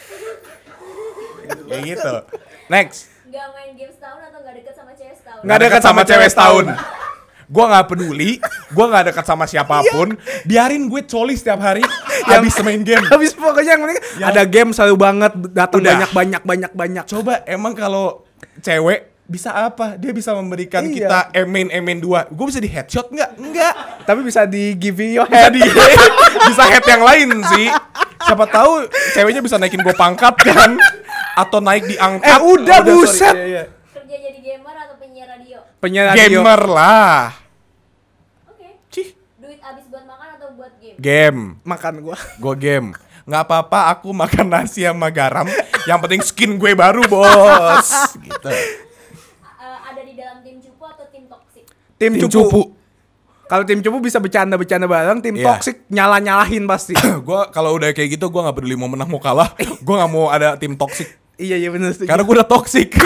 Speaker 1: Kayak gitu. Next.
Speaker 3: Gak main game setahun atau gak deket sama cewek setahun?
Speaker 1: Nggak dekat sama cewek setahun. Gue gak peduli. Gue gak dekat sama siapapun. Biarin gue coli setiap hari. Habis main game.
Speaker 2: Habis pokoknya yang penting ada game seru banget, datang
Speaker 1: Udah.
Speaker 2: banyak.
Speaker 1: Coba emang kalau cewek bisa apa? Dia bisa memberikan
Speaker 2: Iya.
Speaker 1: kita emen 2. Gue bisa di headshot nggak? Enggak.
Speaker 2: Tapi bisa di give you your
Speaker 1: Bisa
Speaker 2: head.
Speaker 1: bisa head yang lain sih. Siapa tahu ceweknya bisa naikin gue pangkat kan? Atau naik diangkat.
Speaker 2: Udah buset.
Speaker 1: Iya.
Speaker 3: Kerja jadi gamer atau penyiar radio?
Speaker 2: Penyiar radio.
Speaker 1: Gamer lah.
Speaker 3: Oke.
Speaker 1: Cih.
Speaker 3: Duit abis buat makan atau buat game?
Speaker 1: Game.
Speaker 2: Makan gua.
Speaker 1: Gue game. Nggak apa-apa aku makan nasi sama garam. Yang penting skin gue baru bos. Gitu.
Speaker 3: Ada di dalam tim cupu atau tim toksik?
Speaker 2: Tim cupu. Kalau tim cupu bisa bercanda bareng, tim
Speaker 1: Iya.
Speaker 2: toksik nyalahin pasti.
Speaker 1: Gue kalau udah kayak gitu gue nggak peduli mau menang mau kalah. Gue nggak mau ada tim toksik.
Speaker 2: Iya benar sih.
Speaker 1: Karena gue udah toksik.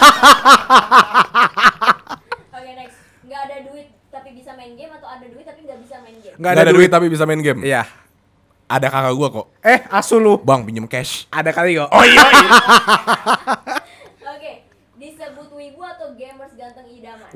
Speaker 3: Oke, next. Gak ada duit tapi bisa main game atau ada duit tapi gak bisa main game?
Speaker 2: Nggak
Speaker 1: Gak ada duit tapi bisa main game.
Speaker 2: Iya.
Speaker 1: Ada kakak gue kok.
Speaker 2: Asu lu.
Speaker 1: Bang pinjem cash.
Speaker 2: Ada kali kok.
Speaker 1: Oh iya.
Speaker 3: Oke. Disebut wibu atau gamers ganteng idaman?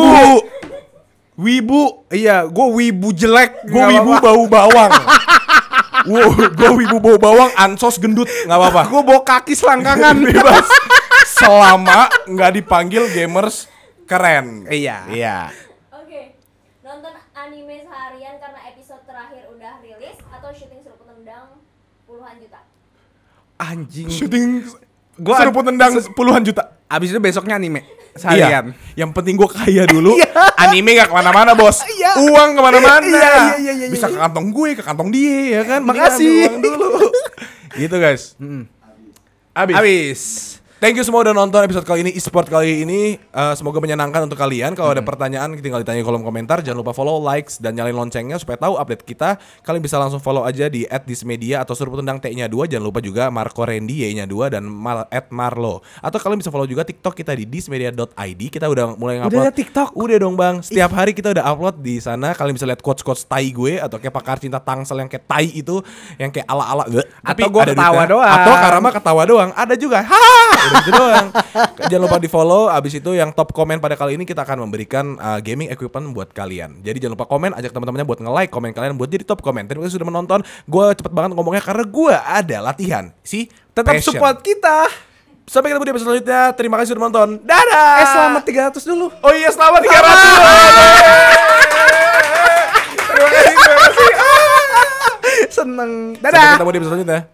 Speaker 1: Wibu.
Speaker 2: Iya, gue wibu jelek.
Speaker 1: Gue wibu bau bawang. Gue wibu bau bawang, ansos gendut, nggak apa-apa.
Speaker 2: Gue bawa kaki selangkangan.
Speaker 1: Bebas. Selama nggak dipanggil gamers keren.
Speaker 2: Iya.
Speaker 3: Oke. Nonton anime seharian karena episode terakhir udah rilis atau syuting seruput tendang puluhan juta?
Speaker 2: Anjing.
Speaker 1: Syuting
Speaker 2: Gua
Speaker 1: seruput tendang puluhan juta.
Speaker 2: Abis itu besoknya anime seharian.
Speaker 1: Iya. Yang penting gue kaya dulu. Anime gak kemana-mana bos.
Speaker 2: Iya.
Speaker 1: Uang kemana-mana.
Speaker 2: Iya.
Speaker 1: Bisa ke kantong gue, ke kantong dia ya kan.
Speaker 2: Makasih.
Speaker 1: Mendingan ambil uang dulu. Gitu guys.
Speaker 2: Abis.
Speaker 1: Thank you semua udah nonton episode kali ini, e-sport kali ini. Semoga menyenangkan untuk kalian. Kalau ada pertanyaan tinggal ditanya di kolom komentar. Jangan lupa follow, likes, dan nyalain loncengnya supaya tahu update kita. Kalian bisa langsung follow aja di @dismedia atau Seruput Tendang T-nya 2. Jangan lupa juga Marco Randy Y-nya 2 dan @marlo. Atau kalian bisa follow juga TikTok kita di dismedia.id. Kita udah mulai ngupload.
Speaker 2: Udah ada TikTok?
Speaker 1: Udah dong bang. Setiap hari kita udah upload di sana. Kalian bisa lihat quotes-quotes tai gue atau kayak pakar cinta Tangsel yang kayak tai itu, yang kayak ala-ala.
Speaker 2: Atau gue ketawa
Speaker 1: duitnya.
Speaker 2: doang.
Speaker 1: Atau Karama ketawa doang. Ada juga. Udah gitu doang. Jangan lupa di follow. Abis itu yang top komen pada kali ini kita akan memberikan gaming equipment buat kalian. Jadi jangan lupa komen, ajak teman-temannya buat nge-like komen kalian buat jadi top komen. Terima kasih sudah menonton. Gue cepet banget ngomongnya karena gue ada latihan.
Speaker 2: Tetap
Speaker 1: Passion.
Speaker 2: support kita.
Speaker 1: Sampai ketemu di episode selanjutnya. Terima kasih sudah menonton. Dadah.
Speaker 2: Selamat 300 dulu.
Speaker 1: Oh iya, selamat 300. Terima kasih.
Speaker 2: Seneng.
Speaker 1: Sampai
Speaker 2: Dadah.
Speaker 1: ketemu di episode selanjutnya.